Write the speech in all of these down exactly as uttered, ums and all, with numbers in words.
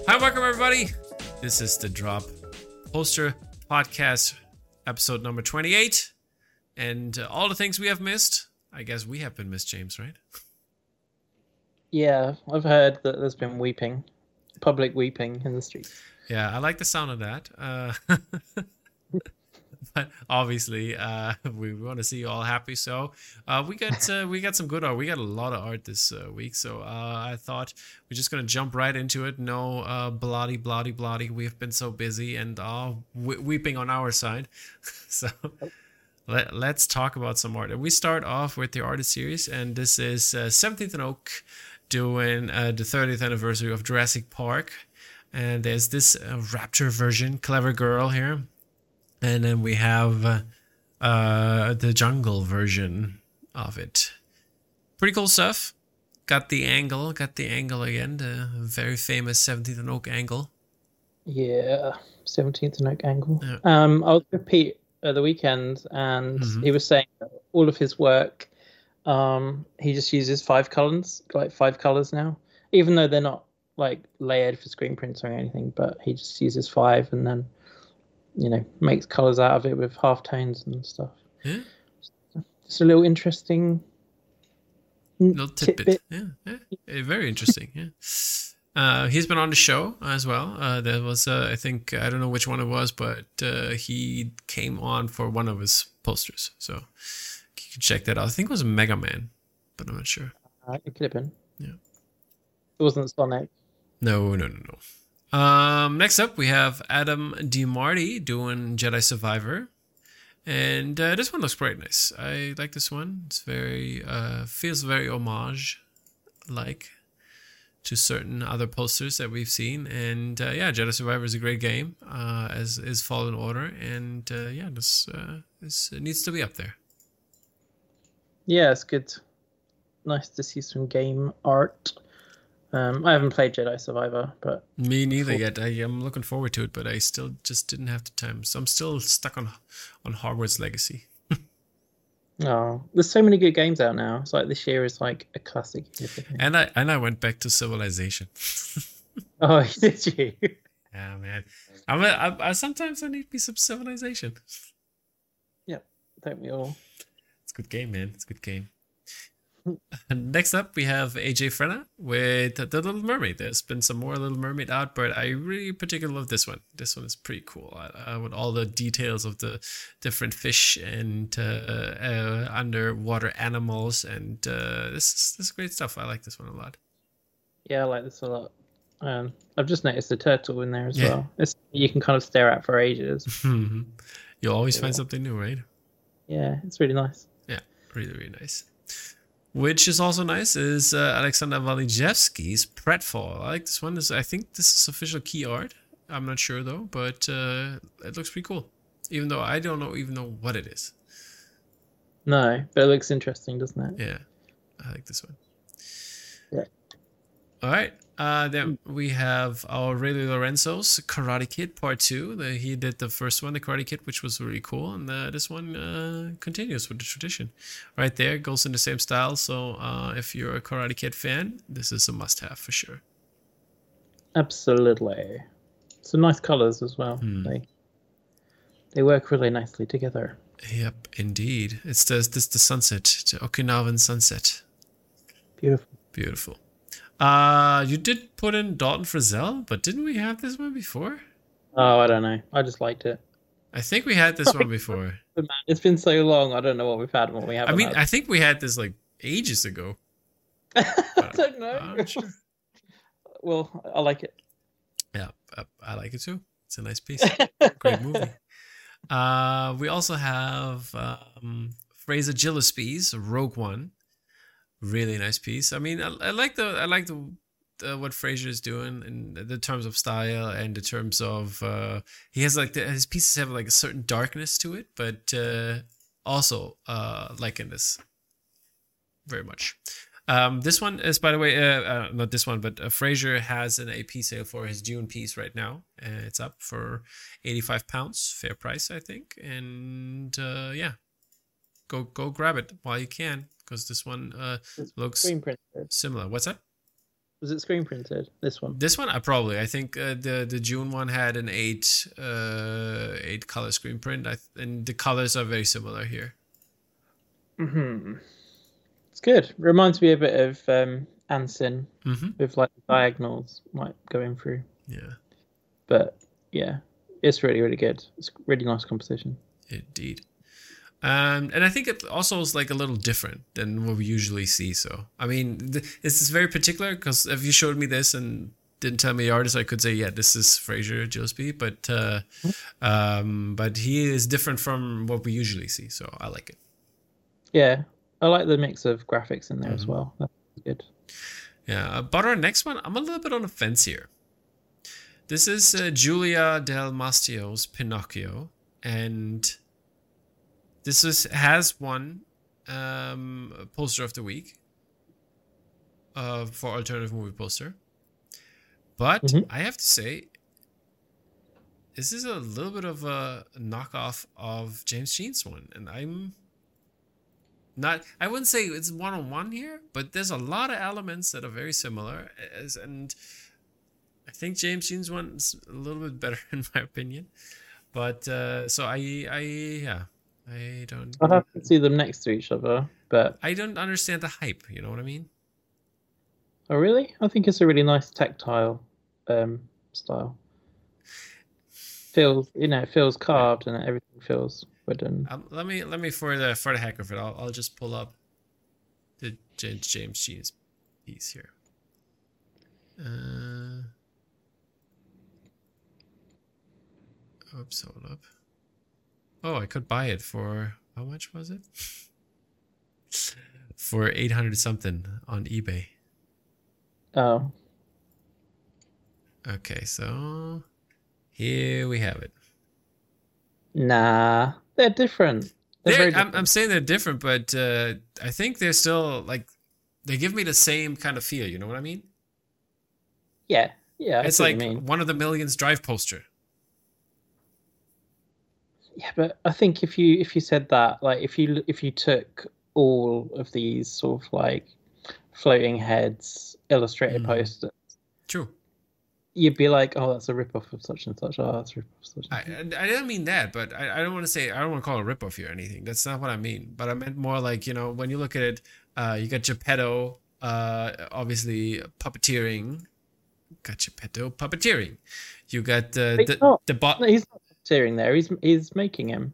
Hi, welcome everybody. This is the Drop Poster Podcast, episode number twenty-eight. And uh, all the things we have missed. I guess we have been missed, James, right? Yeah, I've heard that there's been weeping, public weeping in the streets. Yeah, I like the sound of that. Uh, but obviously, uh, we want to see you all happy. So uh, we got uh, we got some good art. We got a lot of art this uh, week. So uh, I thought we're just gonna jump right into it. No uh, bloody, bloody, bloody. We've been so busy and all we- weeping on our side. so. Let, let's talk about some art. And we start off with the artist series, and this is uh, seventeenth and Oak doing uh, the thirtieth anniversary of Jurassic Park. And there's this uh, Raptor version, Clever Girl here. And then we have uh, uh, the Jungle version of it. Pretty cool stuff. Got the angle, got the angle again, the very famous seventeenth and Oak angle. Yeah, seventeenth and Oak angle. Yeah. Um, I was with Pete at the weekend, and Mhm. he was saying that all of his work, um, he just uses five colors, like five colors now, even though they're not like layered for screen prints or anything. But he just uses five, and then you know makes colors out of it with half tones and stuff. Yeah. Just a little interesting Little tidbit. Yeah, yeah. Eh, very interesting. Yeah. Uh, he's been on the show as well. Uh, there was, uh, I think, I don't know which one it was, but uh, he came on for one of his posters. So you can check that out. I think it was Mega Man, but I'm not sure. Uh, it could have been. Yeah. It wasn't Sonic. No, no, no, no. Um, next up, we have Adam DiMarti doing Jedi Survivor. And uh, this one looks quite nice. I like this one. It's very, uh, feels very homage-like to certain other posters that we've seen. And uh, yeah, Jedi Survivor is a great game, uh, as is Fallen Order. And uh, yeah, this, uh, this needs to be up there. Yeah, it's good. Nice to see some game art. Um, I haven't played Jedi Survivor, but Me neither yet. I am looking forward to it, but I still just didn't have the time. So I'm still stuck on on Hogwarts Legacy. oh, there's so many good games out now. It's like this year is like a classic year for games. And I and I went back to Civilization. Oh, did you? Yeah, man. I'm a, I, I sometimes I need me some Civilization. Yep, don't we all? It's a good game, man. It's a good game. Next up, we have A J Frenna with The Little Mermaid. There's been some more Little Mermaid out, but I really particularly love this one. This one is pretty cool. I, I, with all the details of the different fish and uh, uh, underwater animals, and uh, this is this is great stuff. I like this one a lot. Yeah, I like this a lot. Um, I've just noticed the turtle in there as Yeah. well. It's you can kind of stare at for ages. You'll always find Yeah. something new, right? Yeah, it's really nice. Yeah, really, really nice. Which is also nice is uh, Alexander Walijewski's Pratfall. I like this one. This, I think this is official key art. I'm not sure though, but uh, it looks pretty cool. Even though I don't know even know what it is. No, but it looks interesting, doesn't it? Yeah, I like this one. Yeah. All right. Uh, then we have our Ray Lorenzo's Karate Kid Part Two. The, he did the first one, the Karate Kid, which was really cool, and uh, this one uh, continues with the tradition. Right there, goes in the same style. So uh, if you're a Karate Kid fan, this is a must-have for sure. Absolutely. Some nice colors as well. Hmm. They they work really nicely together. Yep, indeed. It's the this the sunset, the Okinawan sunset. Beautiful. Beautiful. Uh, you did put in Dalton Frizzell, but didn't we have this one before? Oh, I don't know. I just liked it. I think we had this one before. But man, it's been so long. I don't know what we've had and what we haven't. I mean, had. I think we had this like ages ago. I don't know. I'm not sure. Well, I like it. Yeah, I, I like it too. It's a nice piece. Great movie. Uh, we also have um, Fraser Gillespie's Rogue One. Really nice piece. I mean, I, I like the I like the, the what Fraser is doing in the terms of style and the terms of uh, he has like the, his pieces have like a certain darkness to it, but uh, also uh, liking this very much. Um, this one is, by the way, uh, uh, not this one, but uh, Fraser has an A P sale for his Dune piece right now. Uh, it's up for eighty-five pounds, fair price, I think. And uh, yeah, go go grab it while you can, because this one uh, looks Screen printed. similar. What's that? Was it screen printed? This one. This one, I probably. I think uh, the the June one had an eight uh eight color screen print. I th- and the colors are very similar here. Hmm. It's good. Reminds me a bit of um, Ansin Mm-hmm. with like diagonals like going through. Yeah, But yeah, it's really really good. It's really nice composition. indeed. Um, and I think it also is like a little different than what we usually see. So, I mean, th- this is very particular because if you showed me this and didn't tell me the artist, I could say, yeah, this is Fraser Gillespie. But, uh, um, but he is different from what we usually see. So I like it. Yeah, I like the mix of graphics in there as Mm-hmm. well. That's good. Yeah. Uh, but our next one, I'm a little bit on the fence here. This is uh, Julia Del Mastio's Pinocchio, and this is has won um, poster of the week uh, for alternative movie poster. But Mhm. I have to say, this is a little bit of a knockoff of James Jean's one, and I'm not. I wouldn't say it's one on one here, but there's a lot of elements that are very similar, as and I think James Jean's one is a little bit better in my opinion. But uh, so I, I yeah. I don't. I'd have to see them next to each other, but I don't understand the hype. You know what I mean? oh really? I think it's a really nice tactile um, style. Feels, you know, it feels carved and everything feels wooden. Um, let me let me for the for the heck of it, I'll I'll just pull up the James James Jean's piece here. Uh, oops, hold up. Oh, I could buy it for how much was it? For eight hundred something on eBay. Oh, Okay, so here we have it. nah, they're different. They're They're, very I'm, different. I'm saying they're different, but uh, I think they're still like they give me the same kind of feel. You know what I mean? Yeah, yeah, I It's see what like you mean. one of the millions drive poster. Yeah, but I think if you if you said that, like if you if you took all of these sort of like floating heads illustrated Mhm. posters, True. you'd be like, oh, that's a rip-off of such and such. Oh, that's a rip-off of such I and such. I I didn't mean that, but I, I don't want to say I don't want to call it a ripoff here or anything. That's not what I mean. But I meant more like, you know, when you look at it, uh, you got Geppetto, uh, obviously puppeteering. Got Geppetto puppeteering. You got uh, He's the not. the bot. No, he's not tearing there. He's he's making him.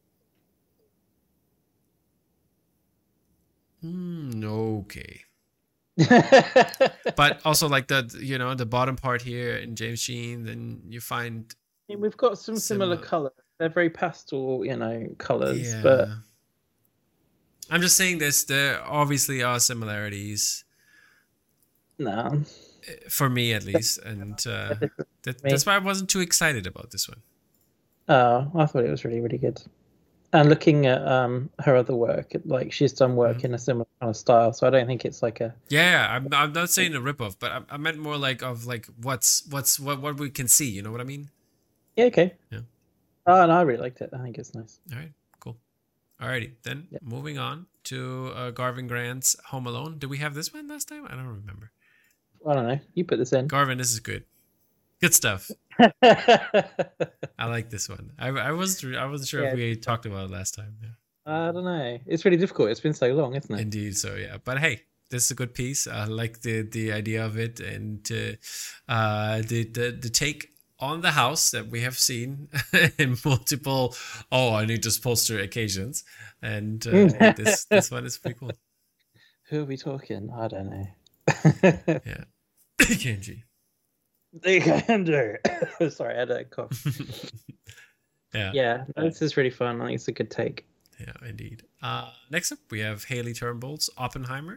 Hmm, okay. I But also like the you know the bottom part here in James Jean, then you find mean, we've got some similar, Similar. colors. They're very pastel, you know, colors. yeah. But I'm just saying this. There obviously are similarities no, uh, for me at least, and uh, that, Me. that's why I wasn't too excited about this one. oh, I thought it was really, really good. And looking at um her other work, it- like she's done work Mhm. in a similar kind of style, so I don't think it's like a Yeah, I'm I'm not saying a ripoff, but I, I meant more like of like what's what's what what we can see. You know what I mean? yeah, okay. Yeah. Oh, and I really liked it. I think it's nice. All right, cool. Alrighty, then Yeah. moving on to uh, Garvin Grant's Home Alone. Did we have this one last time? I don't remember. I don't know. You put this in. Garvin, this is good. Good stuff. I like this one. I, I wasn't I wasn't sure Yeah, if we talked about it last time. Yeah. I don't know. It's really difficult. It's been so long, isn't it? Indeed. So yeah, but hey, this is a good piece. I like the the idea of it and uh, uh, the the the take on the house that we have seen in multiple. Oh, I need this poster occasions, and uh, this this one is pretty cool. Who are we talking? I don't know. Yeah, Kenji. They can do. Sorry, I had a cough. Yeah. Yeah, no, this is really fun. I think it's a good take. Yeah, indeed. Uh, next up, we have Haley Turnbull's Oppenheimer.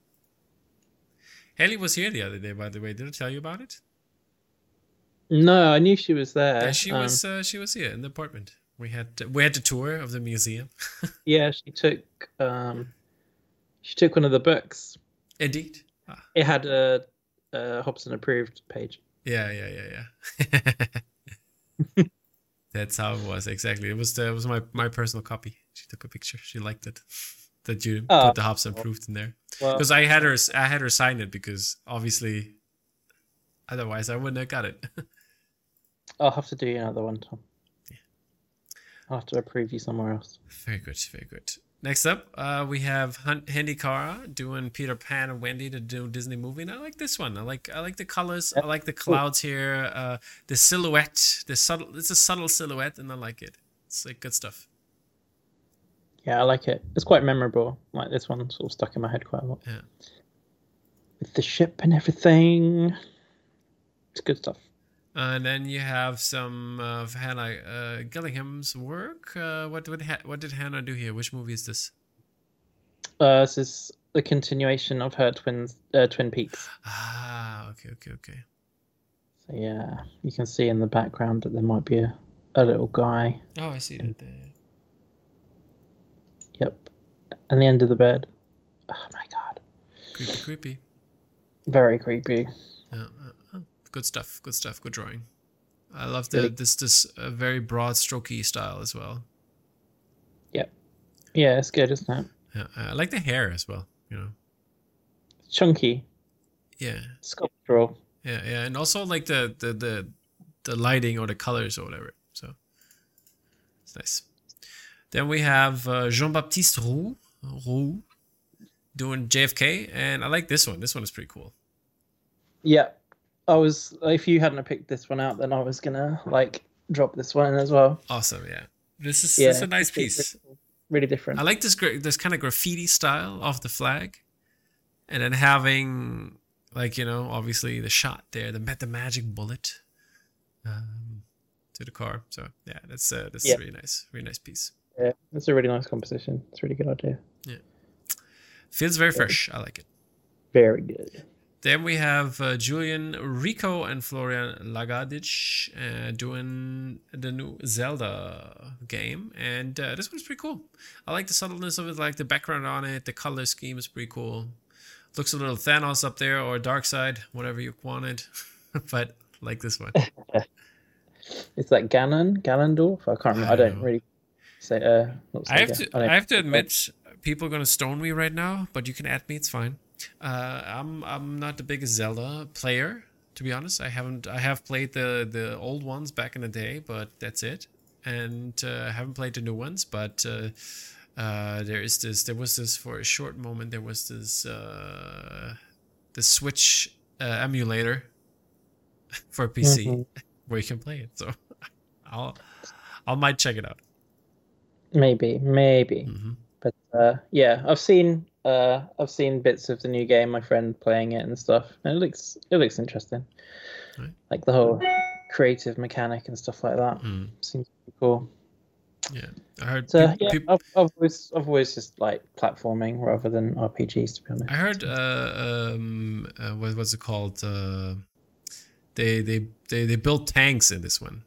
Haley was here the other day, by the way. Did I tell you about it? No, I knew she was there. Yeah, she Um, was. Uh, she was here in the apartment. We had we had the tour of the museum. Yeah, she took um, she took one of the books. Indeed. Ah, It had a, a Hobson approved page. yeah, yeah, yeah, yeah. That's how it was exactly. It was the, it was my my personal copy. She took a picture. She liked it. That you Oh. put the Hobson approved in there Well, because I had her I had her sign it because obviously Otherwise, I wouldn't have got it. I'll have to do another one, Tom. Yeah. I'll have to approve you somewhere else. Very good, very good. Next up, uh, we have Handy Kara doing Peter Pan and Wendy to do Disney movie, and I like this one. I like I like the colors. Yep. I like the clouds here. Uh, the silhouette, the subtle. It's a subtle silhouette, and I like it. It's like good stuff. Yeah, I like it. It's quite memorable. Like this one, sort of stuck in my head quite a lot. Yeah. With the ship and everything, it's good stuff. Uh, and then you have some of Hannah uh, Gillingham's work. Uh, what what ha- what did Hannah do here? Which movie is this? Uh, this is the continuation of her twins, uh, Twin Peaks. Ah, okay, okay, okay. So yeah, you can see in the background that there might be a, a little guy. Oh, I see that there. Yep, and the end of the bed. Oh my god. Creepy, creepy. Very creepy. Yeah. Uh, uh. Good stuff. Good stuff. Good drawing. I love the really? this this uh, very broad, strokey style as well. Yep. Yeah, it's good, isn't it? Yeah, I like the hair as well. You know, chunky. Yeah. Sculptural. Yeah, yeah, and also like the the the the lighting or the colors or whatever. So it's nice. Then we have uh, Jean-Baptiste Roux, Roux doing J F K, and I like this one. This one is pretty cool. Yeah. I was, if you hadn't picked this one out, then I was gonna like drop this one in as well. Awesome, yeah. This is, yeah, this is a nice piece. Really, really different. I like this this kind of graffiti style of the flag, and then having like, you know, obviously the shot there, the the magic bullet um, to the car. So yeah, that's uh, that's yeah. really nice, really nice piece. Yeah, it's a really nice composition. It's a really good idea. Yeah, feels very fresh. I like it. Very good. Then we have uh, Julian Rico and Florian Lagadic uh, doing the new Zelda game. And uh, this one's pretty cool. I like the subtleness of it, like the background on it. The color scheme is pretty cool. Looks a little Thanos up there or Darkseid, whatever you wanted. But I like this one. It's like Ganon, Ganondorf. I can't remember. I, I don't know. really say. Uh, I have to. I, I have to admit, people are gonna stone me right now. But you can add me. It's fine. Uh, I'm I'm not the biggest Zelda player, to be honest. I haven't I have played the, the old ones back in the day, but that's it. And uh, I haven't played the new ones. But uh, uh, there is this. There was this for a short moment. There was this uh, the Switch uh, emulator for P C mm-hmm. where you can play it. So I'll I might check it out. Maybe, maybe. Mm-hmm. But uh, yeah, I've seen. Uh, I've seen bits of the new game. My friend playing it and stuff. And it looks it looks interesting. Right. Like the whole creative mechanic and stuff like that mm. seems pretty cool. Yeah, I heard. So, people, yeah, people... I've, I've always I've always just like platforming rather than R P Gs, to be honest. I heard. Uh, um, uh, what what's it called? Uh, they they they they build tanks in this one.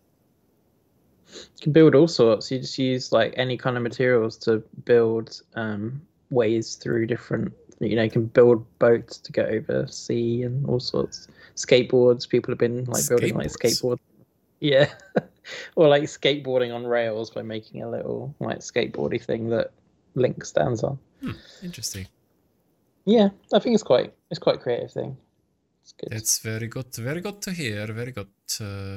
You can build all sorts. You just use like any kind of materials to build. Um, ways through different, you know, you can build boats to get over sea and all sorts. Skateboards, people have been like building like skateboards. Yeah. Or like skateboarding on rails by making a little like skateboardy thing that Link stands on. Hmm, interesting. Yeah, I think it's quite it's quite a creative thing. It's good. It's very good, very good to hear. Very good. Uh,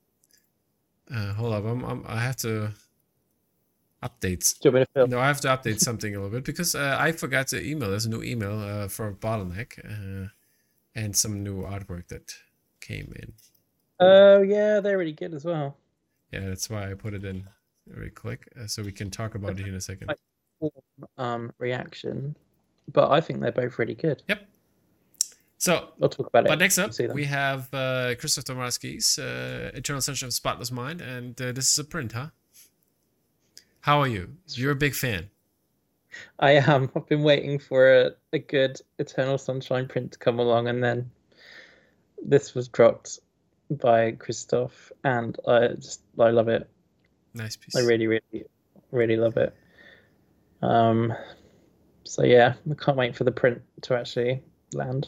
uh, hold up, I'm, I'm, I have to. Updates. Do you want me to film? No, I have to update something a little bit because uh, I forgot to email. There's a new email uh, for Bottleneck uh, and some new artwork that came in. Oh, yeah, they're really good as well. Yeah, that's why I put it in very quick uh, so we can talk about it in a second. Um, reaction, but I think they're both really good. Yep. So, we'll talk about it. But next up, we have uh, Christoph Tomarski's uh, Eternal Sunshine of Spotless Mind, and uh, this is a print, huh? How are you? You're a big fan. I am. I've been waiting for a, a good Eternal Sunshine print to come along, and then this was dropped by Christoph, and I just I love it. Nice piece. I really, really, really love it. Um. So yeah, I can't wait for the print to actually land.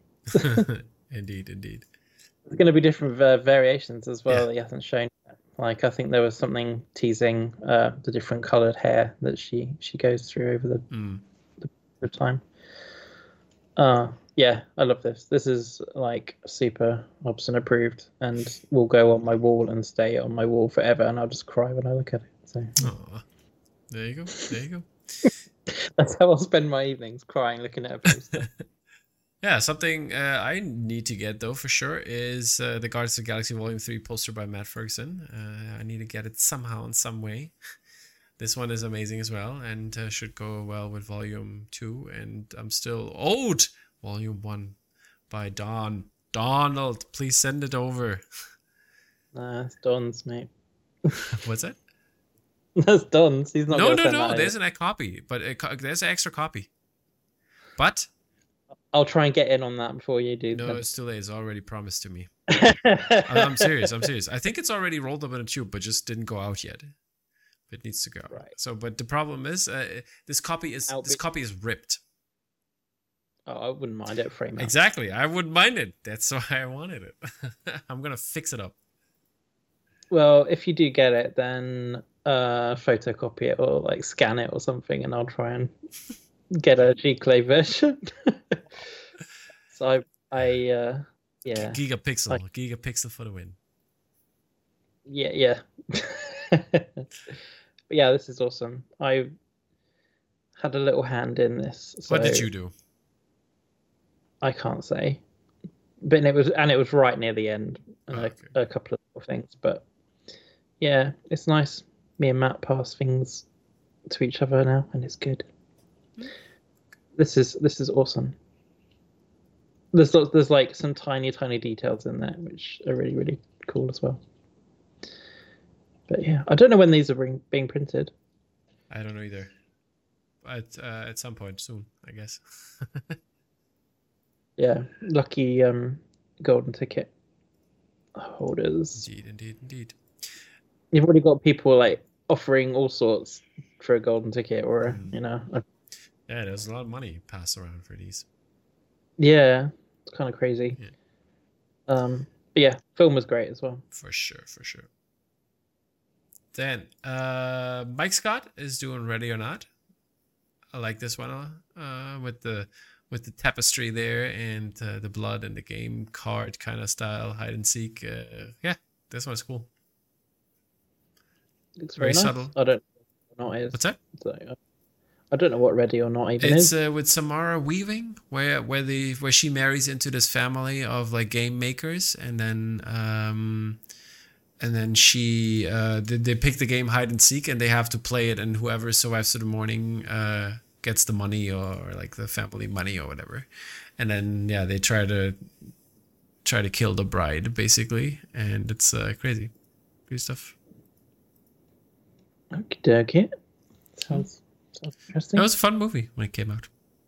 Indeed, indeed. There's going to be different uh, variations as well yeah. that he hasn't shown yet. Like, I think there was something teasing uh, the different coloured hair that she, she goes through over the, mm. the, the time. Uh, Yeah, I love this. This is like super Hobson approved, and will go on my wall and stay on my wall forever, and I'll just cry when I look at it. So Aw. There you go. There you go. that's how I'll spend my evenings, crying looking at a poster. Yeah, something uh, I need to get though for sure is uh, the Guardians of the Galaxy Volume Three poster by Matt Ferguson. Uh, I need to get it somehow in some way. This one is amazing as well, and uh, should go well with Volume Two. And I'm still owed Volume One by Don Donald. Please send it over. Nah, it's Don's, mate. What's that? That's Don's. He's not. No, gonna no, send no. that There's over. an copy, but it, there's an extra copy. But I'll try and get in on that before you do. no, it's too late. It's already promised to me. I'm, I'm serious. I'm serious. I think it's already rolled up in a tube, but just didn't go out yet. It needs to go. Right. So, but the problem is, uh, this copy is I'll this be- copy is ripped. Oh, I wouldn't mind it frame out. Exactly. I wouldn't mind it. That's why I wanted it. I'm gonna fix it up. Well, if you do get it, then uh, photocopy it or like scan it or something, and I'll try and get a G-Clay version. so I, I, uh, yeah, Gigapixel. Like- Gigapixel for the win. yeah, yeah. But yeah, this is awesome. I had a little hand in this. So What did you do? I can't say, but it was and it was right near the end, and Oh, a, okay. a couple of little things. But yeah, it's nice. Me and Matt pass things to each other now, and it's good. This is this is awesome. There's lots, there's like some tiny tiny details in there which are really really cool as well. But yeah, I don't know when these are being, being printed. I don't know either. At uh, at some point soon, I guess. Yeah, lucky um, golden ticket holders. Indeed, indeed, indeed. You've already got people like offering all sorts for a golden ticket, or Mm. you know, a, Yeah, there's a lot of money passed around for these. yeah, it's kind of crazy. Yeah. Um, but yeah, film was great as well. For sure, for sure. Then, uh, Mike Scott is doing Ready or Not. I like this one uh, uh, with the with the tapestry there and uh, the blood and the game card kind of style hide and seek. Uh, yeah, this one's cool. It's Very very, nice. subtle. I don't know what it is. What's that? So, uh, I don't know what ready or not even It's is. uh, with Samara Weaving, where where the where she marries into this family of like game makers, and then um, and then she uh, they, they pick the game hide and seek, and they have to play it, and whoever survives to the morning uh, gets the money or, or like the family money or whatever, and then yeah, they try to try to kill the bride basically, and it's uh, crazy, crazy stuff. Okie dokie. Sounds sounds interesting. It was a fun movie when it came out.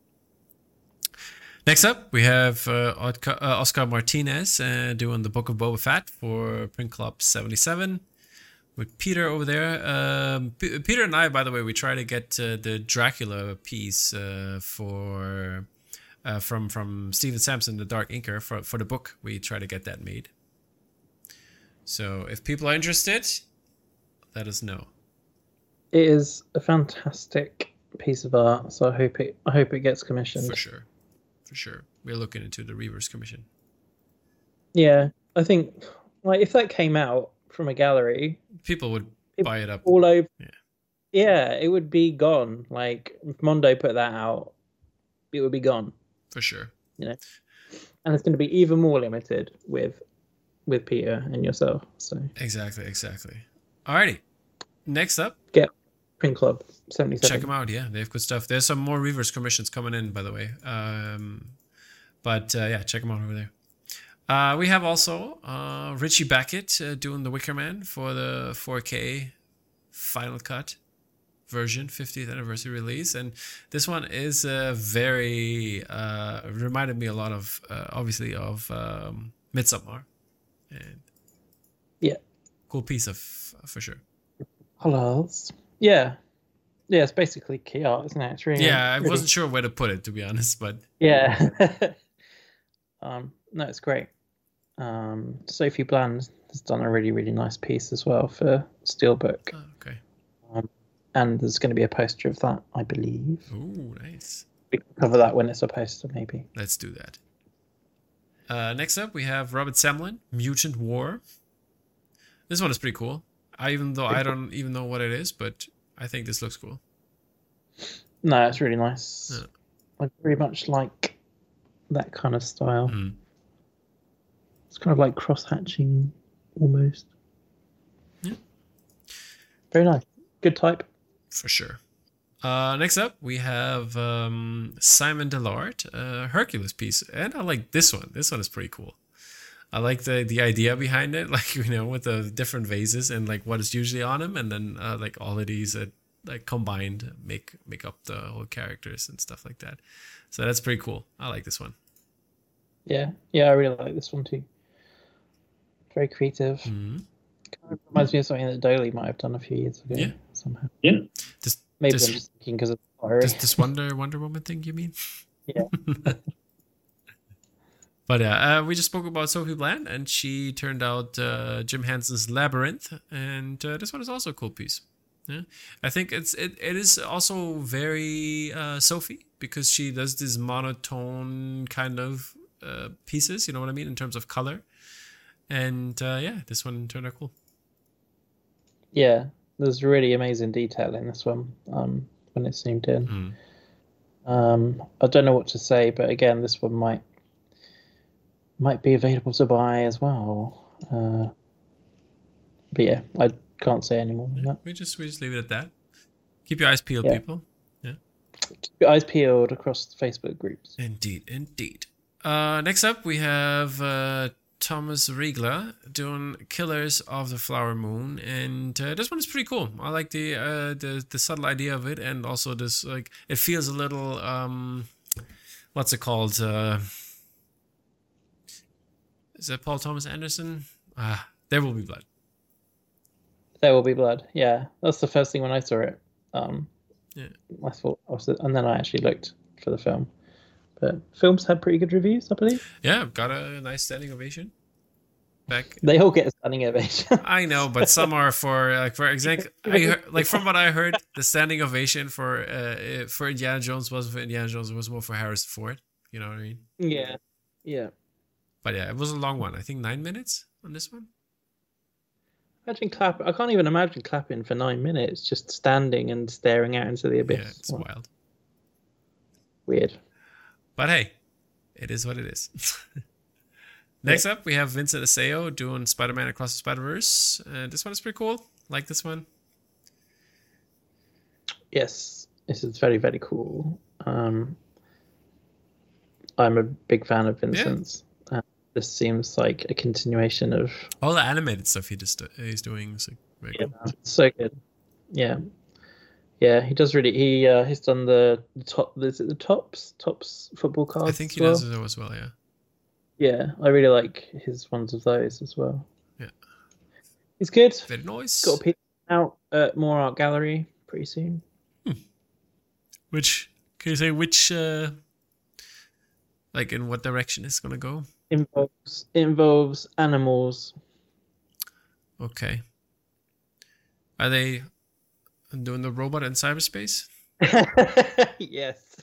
Next up, we have uh, Oscar, uh, Oscar Martinez uh, doing the Book of Boba Fett for Print Club seventy-seven with Peter over there. Um, P- Peter and I, by the way, we try to get uh, the Dracula piece uh, for uh, from from Stephen Sampson, the Dark Inker, for for the book. We try to get that made. So if people are interested, let us know. It is a fantastic piece of art, so I hope it I hope it gets commissioned. For sure. For sure. We're looking into the Reavers Commission. Yeah, I think like if that came out from a gallery, People would It- buy it up. all over. Yeah. Yeah, it would be gone. Like if Mondo put that out, it would be gone, For sure. and it's going to be even more limited with with Peter and yourself. So Exactly, exactly. Alrighty. Next up, Print Club seventy-seven. check them out. Yeah, they have good stuff. There's some more Reavers commissions coming in, by the way. Um, but uh, yeah, check them out over there. Uh, we have also uh, Richie Beckett uh, doing The Wicker Man for the four K Final Cut version, fiftieth anniversary release. And this one is uh, very, uh, reminded me a lot of, uh, obviously, of um, Midsommar. And Yeah. cool piece of, for sure. Hellos. Yeah. Yeah, it's basically key art, isn't it? It's really Yeah, I really- wasn't sure where to put it, to be honest, but Yeah. um, no, it's great. Um, Sophie Bland has done a really, really nice piece as well for Steelbook. oh, okay. And there's going to be a poster of that, I believe. Ooh, nice. We can cover that when it's a poster, maybe. Let's do that. Uh, next up, we have Robert Semlin, Mutant War. This one is pretty cool. I even though I don't even know what it is, but I think this looks cool. No, it's really nice. Yeah. I very much like that kind of style. Mm. It's kind of like cross-hatching, almost. Yeah. Very nice. Good type. For sure. Uh, next up, we have um, Simon Dillard, uh, Hercules piece. And I like this one. This one is pretty cool. I like the, the idea behind it, like, you know, with the different vases and like what is usually on them. And then uh, like all of these that like combined make make up the whole characters and stuff like that. So that's pretty cool. I like this one. Yeah. Yeah, I really like this one too. Very creative. Mm-hmm. Kind of reminds me of something that Doley might have done a few years ago. Yeah. Somehow. Yeah. Just, Maybe just, I'm just thinking because of the fiery. This, this Wonder Wonder Woman thing, you mean? Yeah. But yeah, uh, we just spoke about Sophie Bland, and she turned out uh, Jim Henson's Labyrinth, and uh, this one is also a cool piece. Yeah, I think it's it, it is also very uh, Sophie, because she does these monotone kind of uh, pieces. You know what I mean in terms of color, and uh, yeah, this one turned out cool. Yeah, there's really amazing detail in this one um, when it's zoomed in. Mm. Um, I don't know what to say, but again, this one might. Might be available to buy as well. Uh, but yeah, I can't say any more than Yeah, that. we just we just leave it at that. Keep your eyes peeled, Yeah. people. Yeah. Keep your eyes peeled across the Facebook groups. Indeed, indeed. Uh, next up, we have uh, Thomas Riegler doing Killers of the Flower Moon, and uh, this one is pretty cool. I like the uh, the the subtle idea of it, and also this like it feels a little um, what's it called? Uh, Is that Paul Thomas Anderson? Ah, There Will Be Blood. There Will Be Blood. Yeah, that's the first thing when I saw it. Um, yeah, I thought, and then I actually looked for the film. But films had pretty good reviews, I believe. Yeah, got a nice standing ovation. Back. They all get a standing ovation. I know, but some are for like for example, I heard, like from what I heard, the standing ovation for uh for Indiana Jones was for Indiana Jones it was more for Harrison Ford. You know what I mean? Yeah, yeah. But yeah, it was a long one. I think nine minutes on this one. Imagine clap. I can't even imagine clapping for nine minutes, just standing and staring out into the abyss. Yeah, it's Well, wild. Weird. But hey, it is what it is. Next up, we have Vincent Aseo doing Spider-Man Across the Spider-Verse. Uh, this one is pretty cool. Like this one. Yes, this is very, very cool. Um, I'm a big fan of Vincent's. Yeah. Uh, this seems like a continuation of all the animated stuff he just he's doing. Is like very yeah, cool. So good. Yeah, yeah. He does really. He uh, he's done the, the top. Is it the tops? Tops football cards. I think he as well? does it as well. Yeah. Yeah, I really like his ones of those as well. Yeah, he's good. Very nice. Got a piece out at More Art Gallery pretty soon. Hmm. Which can you say which? Uh, like in what direction it's gonna go? Involves involves animals. Okay. Are they doing the robot in cyberspace? Yes.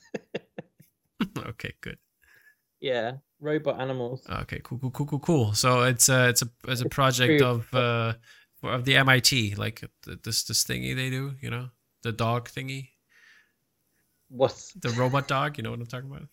Okay, good. Yeah, robot animals. Okay, cool, cool, cool, cool, cool. So it's a it's a it's a project of uh of the M I T, like this this thingy they do, you know, the dog thingy. What's the robot dog? You know what I'm talking about?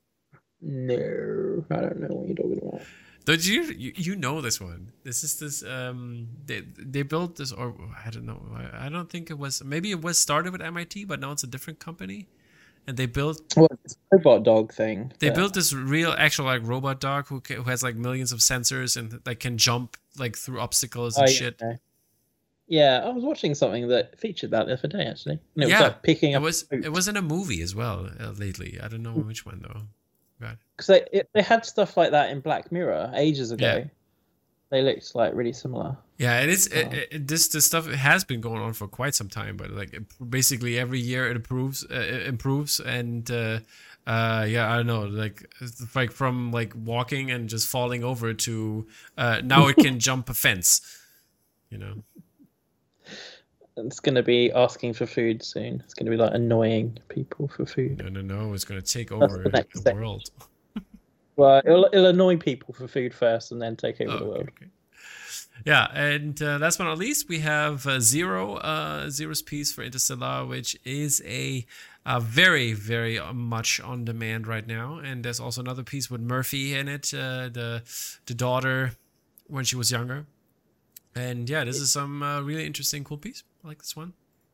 No, I don't know what you're talking about. Don't you, you you know this one? This is this um they they built this, or I don't know. I, I don't think it was. Maybe it was started with M I T, but now it's a different company. And they built what this robot dog thing. They yeah. built this real actual like robot dog who ca- who has like millions of sensors and like can jump like through obstacles and oh, shit. Yeah. yeah, I was watching something that featured that the other day actually. And it yeah, was like picking it up. was it was in a movie as well uh, lately. I don't know which one though. God. Because they it, they had stuff like that in Black Mirror ages ago. Yeah. They looked like really similar. Yeah, it is. Oh. It, it, this this stuff has been going on for quite some time, but like it, basically every year it improves, uh, it improves, and uh, uh, yeah, I don't know, like it's like from like walking and just falling over to uh, now it can jump a fence, you know. it's going to be asking for food soon. It's going to be like annoying people for food. No, no, no. It's going to take That's over the next the stage. world. Well, it'll, it'll annoy people for food first, and then take over Oh, the world. okay, okay. Yeah, and uh, last but not least, we have uh, Zero, uh, Zero's piece for Interstellar, which is a, a very, very much on demand right now. And there's also another piece with Murphy in it, uh, the the daughter when she was younger. And yeah, this is some uh, really interesting, cool piece. I like this one.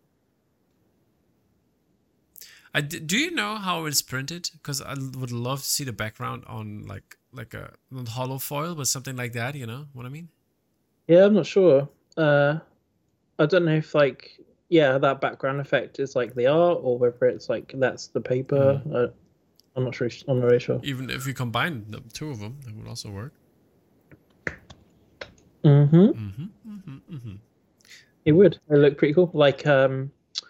I d- do you know how it's printed? Because I would love to see the background on like like a not hollow foil, but something like that. You know what I mean? Yeah, I'm not sure. Uh, I don't know if like yeah, that background effect is like the art, or whether it's like that's the paper. Mm. Uh, I'm not sure. I'm not really sure. Even if you combine the two of them, that would also work. Mm-hmm. Mm-hmm, mm-hmm, mm-hmm. It would. It look pretty cool. Like um,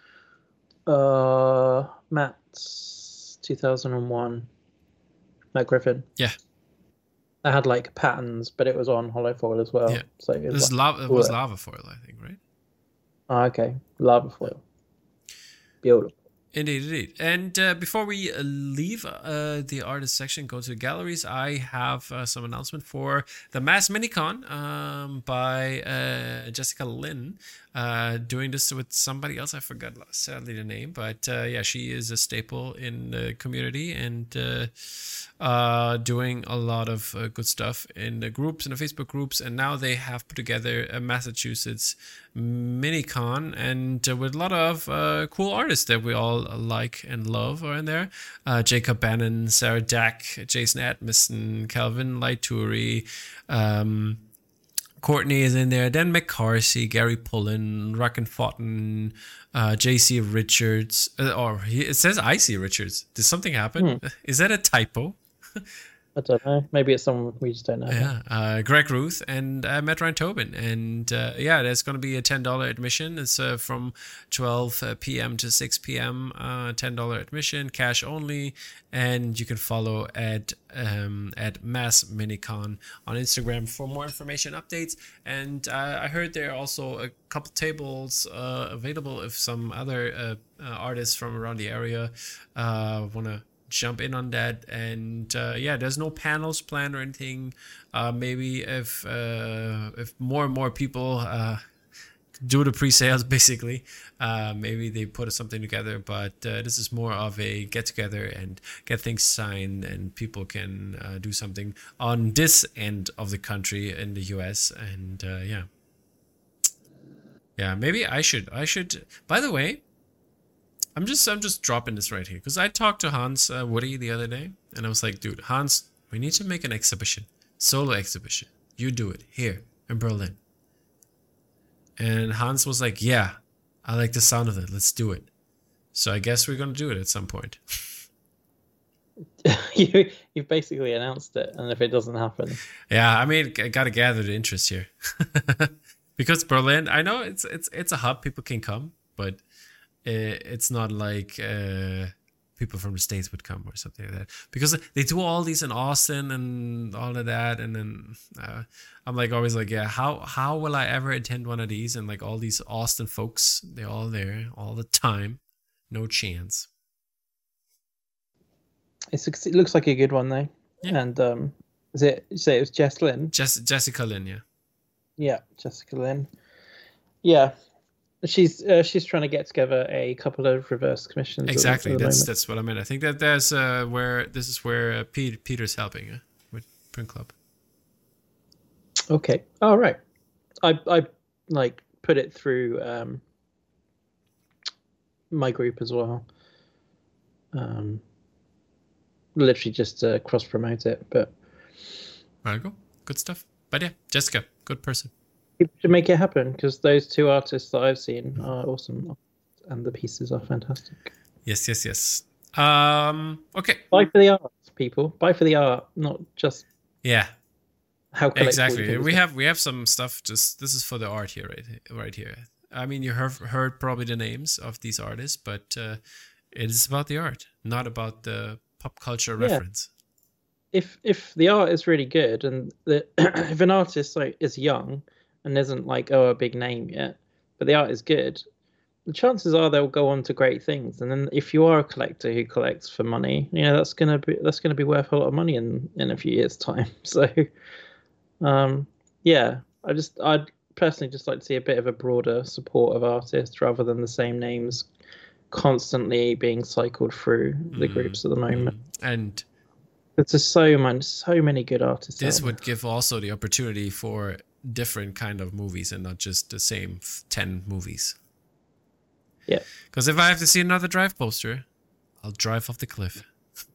uh, Matt's two thousand one, Matt Griffin. Yeah. That had like patterns, but it was on hollow foil as well. Yeah. So it was, this like, lava, it was lava foil, I think, right? Oh, okay, lava foil. Beautiful. Indeed, indeed. And uh, before we uh, leave uh, the artist section, go to the galleries, I have uh, some announcement for the Mass Minicon um, by uh, Jessica Lynn. Uh, doing this with somebody else. I forgot sadly the name, but uh, yeah, she is a staple in the community and uh, uh, doing a lot of uh, good stuff in the groups, in the Facebook groups. And now they have put together a Massachusetts Minicon, and uh, with a lot of uh, cool artists that we all like and love are in there. Uh, Jacob Bannon, Sarah Dack, Jason Atmison, Calvin Laituri, um, Courtney is in there, Dan McCarthy, Gary Pullen, Racken Fountain, uh, J C Richards, uh, or he, it says I C Richards. Did something happen? Hmm. Is that a typo? I don't know. Maybe it's someone we just don't know. Yeah, uh, Greg Ruth and uh, Matt Ryan Tobin. And uh, yeah, there's going to be a ten dollars admission. It's uh, from twelve p.m. to six p.m. Uh, ten dollars admission, cash only. And you can follow at um, at Mass Minicon on Instagram for more information, updates. And uh, I heard there are also a couple tables uh, available if some other uh, uh, artists from around the area uh, want to jump in on that. And uh, yeah, there's no panels planned or anything. Uh, maybe if uh, if more and more people uh, do the pre-sales, basically, uh, maybe they put something together. But uh, this is more of a get together and get things signed, and people can uh, do something on this end of the country in the U S. And uh, yeah, yeah, maybe I should I should. By the way, I'm just I'm just dropping this right here because I talked to Hans uh, Woody the other day, and I was like, dude, Hans, we need to make an exhibition, solo exhibition. You do it here in Berlin. And Hans was like, yeah, I like the sound of it. Let's do it. So I guess we're gonna do it at some point. you you've basically announced it, and if it doesn't happen, yeah, I mean, I gotta gather the interest here because Berlin. I know it's it's it's a hub. People can come, but it's not like uh, people from the States would come or something like that, because they do all these in Austin and all of that. And then uh, I'm like always like, yeah, how how will I ever attend one of these? And like all these Austin folks, they're all there all the time. No chance. It's, it looks like a good one though. Yeah. And um, is it? You say it was Jess Lynn? Jess, Jessica Lynn, yeah. Yeah, Jessica Lynn. Yeah. She's uh, she's trying to get together a couple of reverse commissions. Exactly, at the that's moment. that's what I meant. I think that there's uh, where this is where uh, Pete, Peter's helping uh, with Print Club. Okay, all right. I I like put it through um, my group as well. Um, literally just to cross promote it, but There you go, good stuff. But yeah, Jessica, good person. people should make it happen because those two artists that I've seen are awesome, and the pieces are fantastic. Yes, yes, yes. Um, okay. Buy for the art, people. Buy for the art, not just Yeah, how collectible exactly. you We can. have we have some stuff. Just this is for the art here, right? Right here. I mean, you have heard probably the names of these artists, but uh, it is about the art, not about the pop culture Yeah. reference. If if the art is really good, and the if an artist like is young and isn't like oh a big name yet, but the art is good, the chances are they'll go on to great things. And then if you are a collector who collects for money, you know, that's gonna be that's gonna be worth a lot of money in in a few years' time. So, um, yeah, I just I'd personally just like to see a bit of a broader support of artists rather than the same names constantly being cycled through the Mm, groups at the moment. mm. And There's just so many, so many good artists. this out would give also the opportunity for different kind of movies and not just the same f- ten movies. there. Yeah. Because if I have to see another Drive poster, I'll drive off the cliff.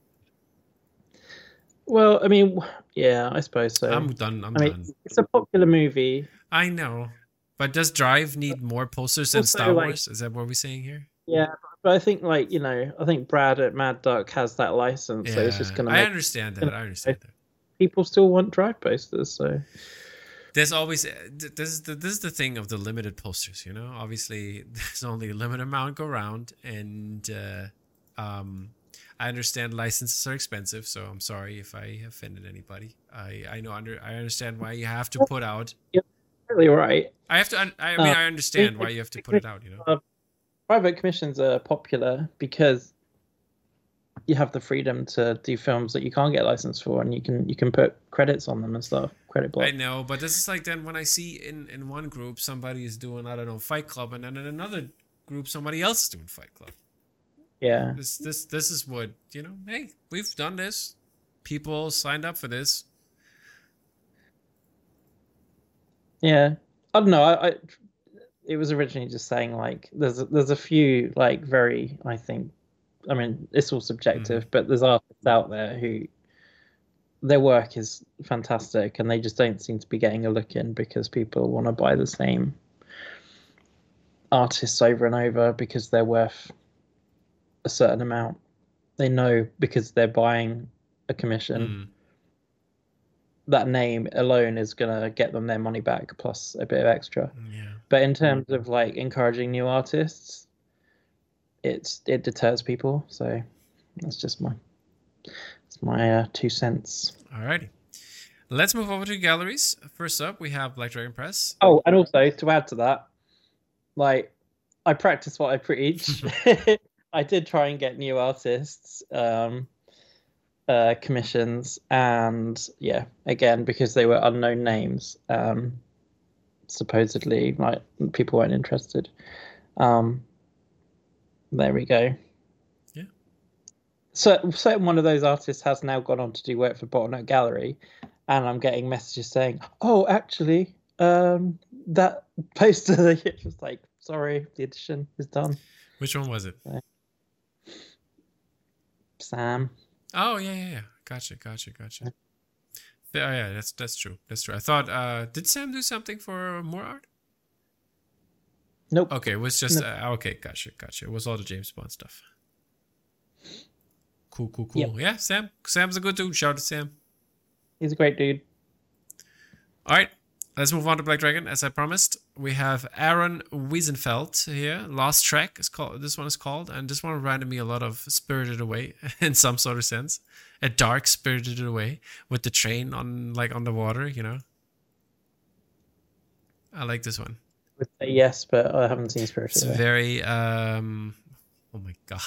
Well, I mean, yeah, I suppose so. I'm done. I'm I mean, done. it's a popular movie. I know. But does Drive need more posters than Also, Star like- Wars? Is that what we're saying here? Yeah, but I think like you know, I think Brad at Mad Duck has that license, so it's just gonna I make understand that. I understand that. people still want Drive posters. So There's always this is the this is the thing of the limited posters, you know. Obviously, there's only a limited amount go around, and uh, um, I understand licenses are expensive, so I'm sorry if I offended anybody. I I know under I understand why you have to put out. really right. I have to. un- I mean, Uh, I understand why you have to put it out. You know. Uh, private commissions are popular because you have the freedom to do films that you can't get licensed for, and you can you can put credits on them and stuff. Credit block. I know, but this is like then when I see in in one group somebody is doing I don't know Fight Club, and then in another group somebody else is doing Fight Club. Yeah. This this this is what you know. Hey, we've done this. People signed up for this. Yeah, I don't know. I, I it was originally just saying like there's a, there's a few like very I think I mean it's all subjective, Mm. but there's artists out there who their work is fantastic and they just don't seem to be getting a look in because people want to buy the same artists over and over because they're worth a certain amount. They know because they're buying a commission. Mm. That name alone is gonna get them their money back plus a bit of extra. Yeah. But in terms of like encouraging new artists, it's it deters people. So that's just my it's my uh, two cents. Alrighty. Let's move over to galleries. First up, we have Black Dragon Press. Oh, and also to add to that, like I practice what I preach. I did try and get new artists um, uh, commissions, and yeah, again because they were unknown names. Um, supposedly like people weren't interested. Um there we go. Yeah. So certain one of those artists has now gone on to do work for Bottleneck Gallery, and I'm getting messages saying, oh actually um that poster it was like sorry the edition is done. Which one was it? Sam. Oh yeah, yeah, yeah. Gotcha, gotcha, gotcha. Yeah, oh, yeah, that's that's true. That's true. I thought, uh, did Sam do something for more art? Nope. Okay, it was just No. uh, okay. Gotcha, gotcha. It was all the James Bond stuff. Cool, cool, cool. Yep. Yeah, Sam. Sam's a good dude. Shout out to Sam. He's a great dude. All right, let's move on to Black Dragon. As I promised, we have Aaron Wiesenfeld here. Lost Track is called. This one is called, and this one reminded me a lot of Spirited Away in some sort of sense. A dark Spirited Away with the train on like on the water. You know. I like this one. I would say yes, but I haven't seen Spirited It's Away. very um oh my god.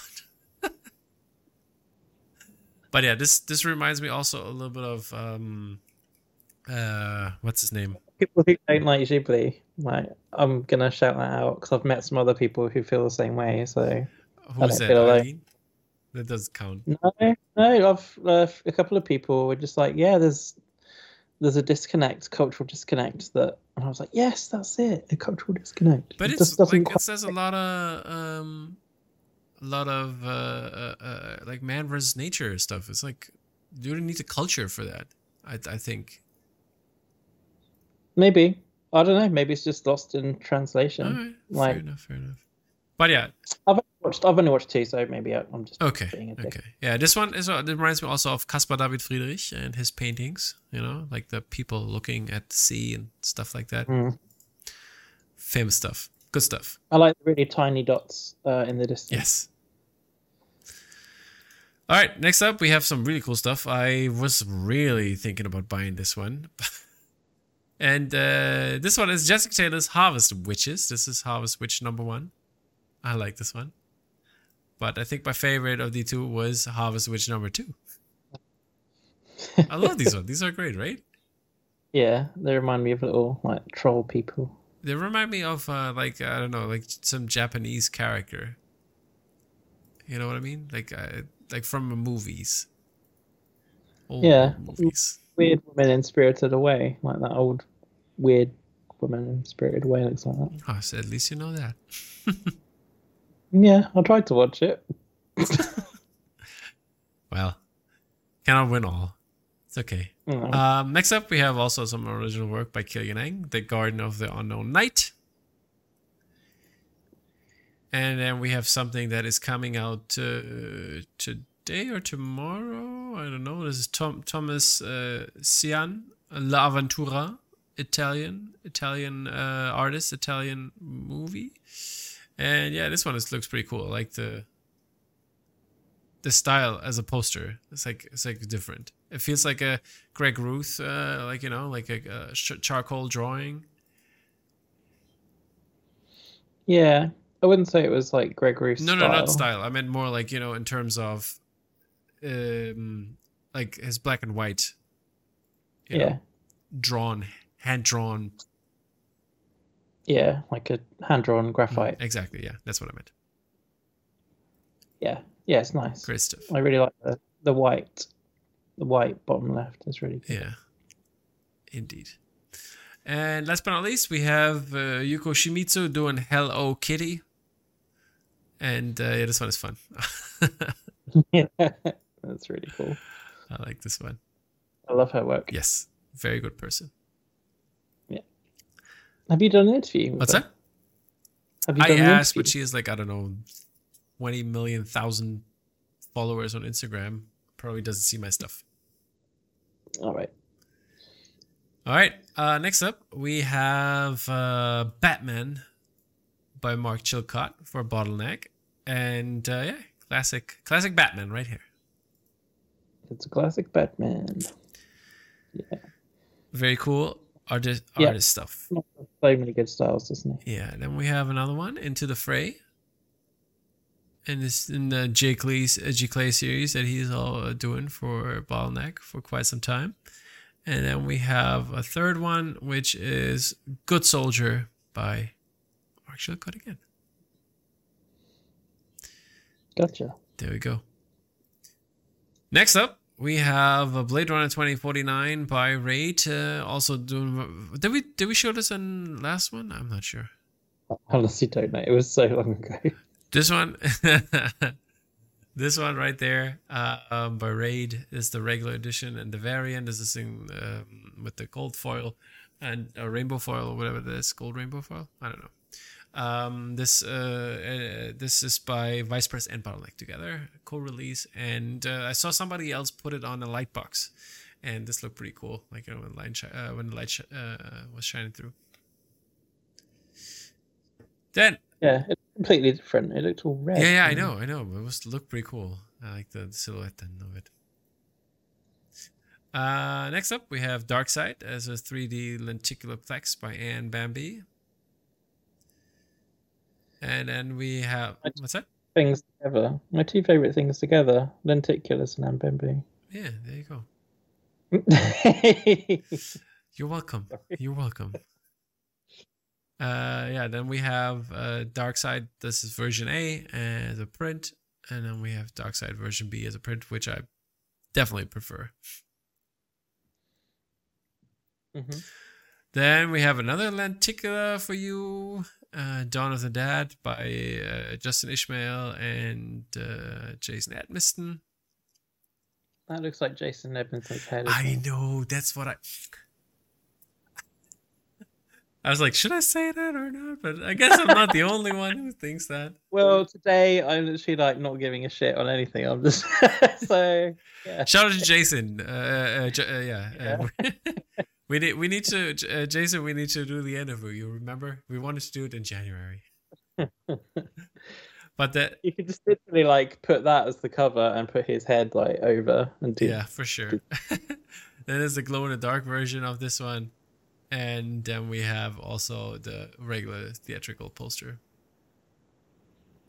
But yeah, this this reminds me also a little bit of um uh what's his name? People who don't like Ghibli, like I'm gonna shout that out because I've met some other people who feel the same way. So Who's don't that? feel alone. Eileen? That doesn't count. no, no, I've uh, a couple of people were just like, yeah, there's there's a disconnect, cultural disconnect that, and I was like, yes, that's it, a cultural disconnect. But It it's just doesn't like it quite- says a lot of um a lot of uh, uh, uh like man versus nature stuff. It's like you don't need the culture for that. I I think. maybe I don't know. Maybe it's just lost in translation. All right, like- fair enough, fair enough. But yeah, I've only watched I've only watched two, so maybe I- I'm just okay, being a dick. okay. Yeah, this one is uh, it reminds me also of Caspar David Friedrich and his paintings. You know, like the people looking at the sea and stuff like that. Mm. Famous stuff, good stuff. I like the really tiny dots uh, in the distance. Yes. All right, next up we have some really cool stuff. I was really thinking about buying this one. And uh, this one is Jessica Taylor's Harvest Witches. This is Harvest Witch number one. I like this one. But I think my favorite of the two was Harvest Witch number two. I love these ones. These are great, right? Yeah, they remind me of little like troll people. They remind me of uh, like I don't know, like some Japanese character. You know what I mean? Like uh, like from the movies. Old Yeah. movies. Weird woman in Spirited Away, like that old weird woman in Spirited Away looks like that. Oh, so at least you know that. Yeah, I tried to watch it. Well, cannot win all. It's okay. Mm. Um, next up, we have also some original work by Killian Eng, The Garden of the Unknown Knight. And then we have something that is coming out uh, today or tomorrow. I don't know. This is Tom, Thomas uh, Sian, La Aventura, Italian, Italian uh, artist, Italian movie. And yeah, this one is, looks pretty cool. I like the the style as a poster. It's like it's like different. It feels like a Greg Ruth, uh, like you know, like a, a charcoal drawing. Yeah, I wouldn't say it was like Greg Ruth's No, style. no, not style. I meant more like you know, in terms of, um, like his black and white. You Yeah. know, drawn, hand drawn. Yeah, like a hand drawn graphite. Exactly. Yeah, that's what I meant. Yeah, yeah, it's nice. Great stuff. I really like the the white, the white bottom left is really good. Yeah, indeed. And last but not least, we have uh, Yuko Shimizu doing Hello Kitty. And uh, yeah, this one is fun. Yeah, that's really cool. I like this one. I love her work. Yes, very good person. Yeah. Have you done an interview? With What's her? that? Have you I done an asked, interview? but she has like, I don't know, twenty million thousand followers on Instagram. Probably doesn't see my stuff. All right. All right. Uh, next up, we have uh, Batman by Mark Chilcott for Bottleneck. And uh, yeah, classic, classic Batman right here. It's a classic Batman. Yeah. Very cool artist, Yeah. artist stuff. So many good styles, doesn't he? Yeah. Then we have another one, Into the Fray. And this in the J. Clay, uh, G. Clay series that he's all uh, doing for Bottleneck for quite some time. And then we have a third one, which is Good Soldier by Mark Chilcott again. Gotcha. There we go. Next up, we have a Blade Runner twenty forty-nine by Raid. Uh, also doing. Did we did we show this in last one? I'm not sure. I honestly don't know. It was so long ago. This one, this one right there, uh, um, by Raid is the regular edition, and the variant is this thing um, with the gold foil and a rainbow foil or whatever it is, gold rainbow foil. I don't know. Um, this uh, uh, this is by Vice Press and Bottleneck together, co-release, and uh, I saw somebody else put it on a light box, and this looked pretty cool. Like you know when light shi- uh, when the light sh- uh, was shining through. Then. Yeah, it's completely different. It looked all red. Yeah, yeah, I know, I know. It was looked pretty cool. I like the silhouette and of it. Uh, next up, we have Darkseid as a three D lenticular plex by Anne Bambi. And then we have what's that? Things together. My two favorite things together: lenticulars and Ambembe. Yeah, there you go. You're welcome. You're welcome. Uh, yeah, then we have uh, Darkseid. This is version A as a print, and then we have Darkseid version B as a print, which I definitely prefer. Mm-hmm. Then we have another lenticular for you, uh, Dawn of the Dead by uh, Justin Ishmael and uh, Jason Edmiston. That looks like Jason Edmondson's head. I know, that's what I... I was like, should I say that or not? But I guess I'm not the only one who thinks that. Well, today I'm literally like not giving a shit on anything. I'm just so yeah. Shout out to Jason. Uh, uh, J- uh, yeah, Yeah. Uh, we need we need to uh, Jason. We need to do the interview. You remember? We wanted to do it in January. But that You could just literally like put that as the cover and put his head like over and do. yeah, for sure. Then there's the glow in the dark version of this one. And then we have also the regular theatrical poster.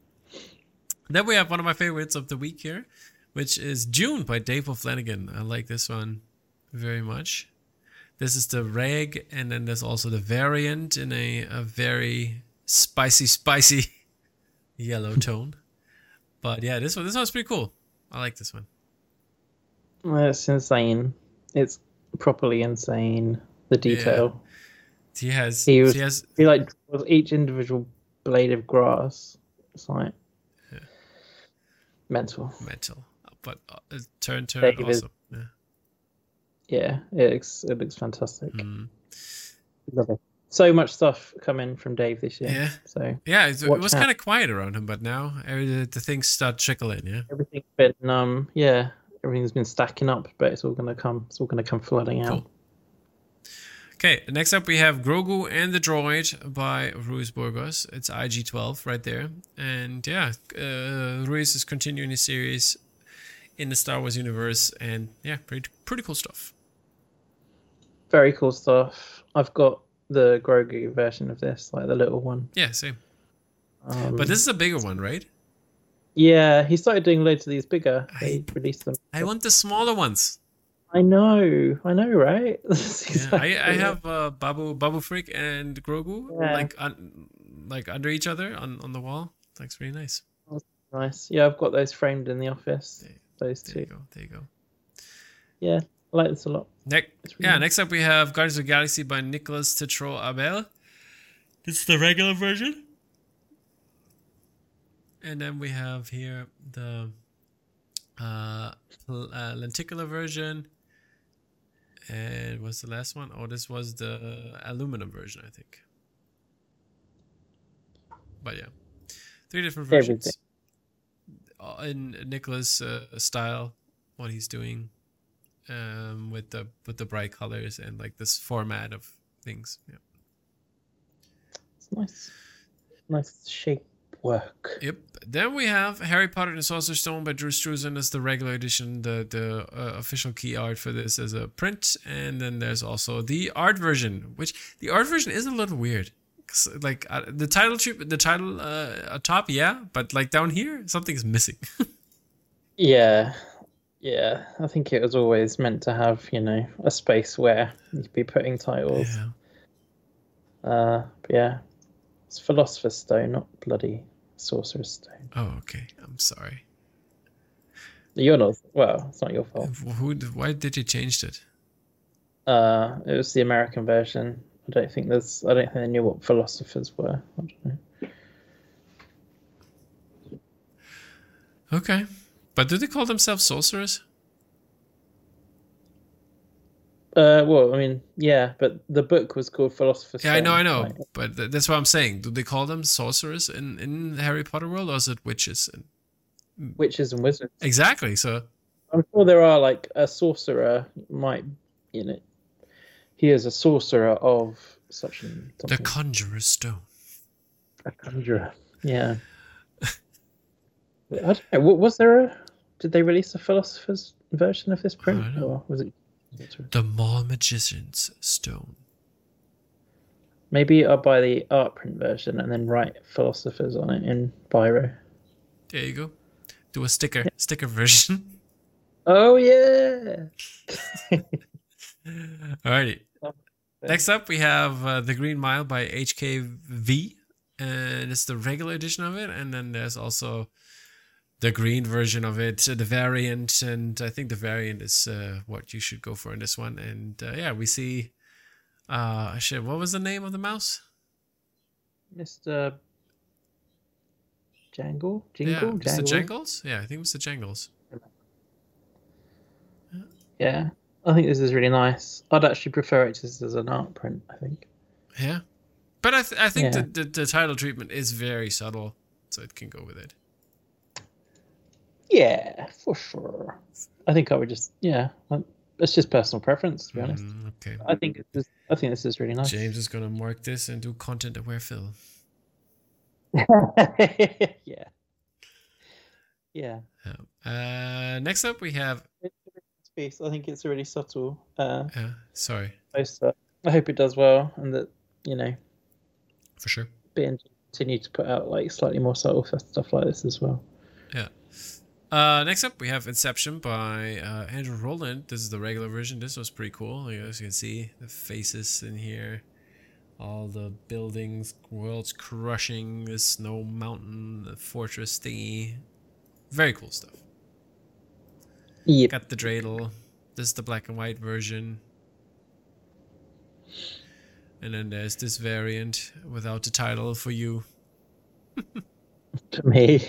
Then we have one of my favorites of the week here, which is June by Dave O'Flanagan. I like this one very much. This is the reg, and then there's also the variant in a, a very spicy, spicy yellow tone. But yeah, this one, this one's pretty cool. I like this one. Well, it's insane. It's properly insane. The detail. Yeah. He has. He was. He has. He like draws each individual blade of grass. It's like Yeah. mental. Mental, but uh, turn turn Dave is- awesome. Yeah. Yeah, it looks it looks fantastic. Mm. Love it. So much stuff coming from Dave this year. Yeah. So Yeah, it, it Watch was out. kind of quiet around him, but now every, the, the things start trickling. Yeah. everything's been um yeah everything's been stacking up, but it's all gonna come. It's all gonna come flooding out. Cool. Okay, next up we have Grogu and the Droid by Ruiz Burgos. It's I G twelve right there. And yeah, uh, Ruiz is continuing his series in the Star Wars universe. And yeah, pretty, pretty cool stuff. Very cool stuff. I've got the Grogu version of this, like the little one. Yeah, same. Um, But this is a bigger one, right? yeah, he started doing loads of these bigger. I- They released them. I want the smaller ones. I know, I know, right? That's Yeah, exactly I, I it. have uh, Babu Babu Freak and Grogu Yeah. like un, like under each other on, on the wall. Looks really nice. Nice. Yeah, I've got those framed in the office. There- Those There you two. go. There you go. Yeah, I like this a lot. Next, It's really yeah. nice. Next up, we have Guardians of the Galaxy by Nicolas Tetro Abel. This is the regular version, and then we have here the uh, l- uh, lenticular version. And what's the last one? Oh, this was the aluminum version, I think. But yeah, three different versions. Uh, in Nicholas' uh, style, what he's doing, um, with the with the bright colors and like this format of things. Yeah. It's nice. Nice shape work. Yep. Then we have Harry Potter and the Sorcerer's Stone by Drew Struzan as the regular edition. The the uh, official key art for this is a print, and then there's also the art version, which the art version is a little weird. 'Cause, like uh, the title treat, the title uh, atop, yeah, but like down here, something's missing. Yeah. Yeah. I think it was always meant to have, you know, a space where you'd be putting titles. yeah. Uh but yeah. It's Philosopher's Stone, not bloody Sorcerer's Stone. Oh, okay. I'm sorry. You're not well, it's not your fault. Who? Why did you change it? Uh it was the American version. I don't think there's I don't think they knew what philosophers were. I don't know. Okay, but do they call themselves sorcerers? Uh, well, I mean, yeah, but the book was called Philosopher's Yeah, I know, I Stone, know, like- but th- that's what I'm saying. Do they call them sorcerers in in the Harry Potter world, or is it witches? And witches and wizards. exactly. So I'm sure there are like a sorcerer might, you know, he is a sorcerer of such and the something. Conjurer's Stone. A conjurer. Yeah. I don't know. wa- Was there a? Did they release a philosopher's version of this print, don't know. or was it? The Mall Magician's Stone. Maybe I'll buy the art print version and then write philosophers on it in biro. There you go. Do a sticker sticker version. Oh yeah. Alrighty. Next up, we have uh, The Green Mile by H K V, and it's the regular edition of it. And then there's also the green version of it, uh, the variant, and I think the variant is uh, what you should go for in this one. And uh, yeah, we see. Uh, shit, what was the name of the mouse? Mister Jangle? Yeah, Jingle? Mister Jangle? Jangles. Yeah, I think Mister Jangles. Yeah. I think this is really nice. I'd actually prefer it just as an art print, I think. Yeah, but I th- I think Yeah. the, the the title treatment is very subtle, so it can go with it. Yeah, for sure. I think I would just, yeah. I- It's just personal preference, to be honest. Mm, okay. I think it's just, I think this is really nice. James is gonna mark this and do content aware fill. yeah. Yeah. Uh, next up we have. It's a really nice piece. I think it's a really subtle uh, Uh, sorry, poster. I hope it does well, and that, you know, for sure. B and G continue to put out like slightly more subtle stuff like this as well. Yeah. Uh, next up, we have Inception by uh, Andrew Rowland. This is the regular version. This was pretty cool. As you can see, the faces in here, all the buildings, worlds crushing, the snow mountain, the fortress thingy. Very cool stuff. Yep. Got the dreidel. This is the black and white version. And then there's this variant without the title for you. To me.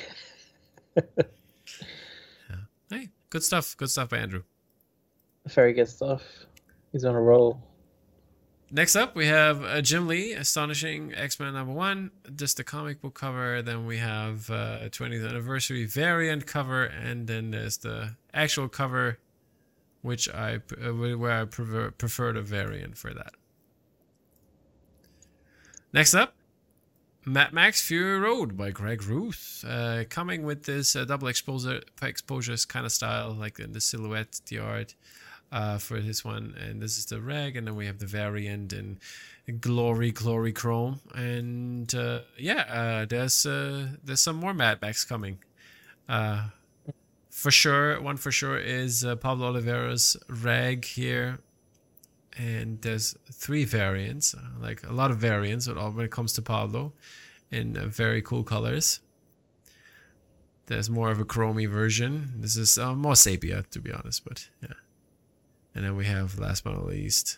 Hey, good stuff. Good stuff by Andrew. Very good stuff. He's on a roll. Next up, we have uh, Jim Lee, Astonishing X-Men number one. Just the comic book cover. Then we have uh, twentieth anniversary variant cover, and then there's the actual cover, which I uh, where I prefer, prefer the variant for that. Next up, Mad Max Fury Road by Greg Ruth, uh, coming with this uh, double exposure exposures kind of style, like in the silhouette, the art. Uh, for this one, and this is the reg, and then we have the variant in glory, glory chrome, and uh, yeah, uh, there's uh, there's some more Mad Max coming. Uh, for sure, one for sure is uh, Pablo Oliveira's reg here, and there's three variants, uh, like a lot of variants when it comes to Pablo, in uh, very cool colors. There's more of a chromey version. This is uh, more sepia, to be honest, but yeah. And then we have, last but not least,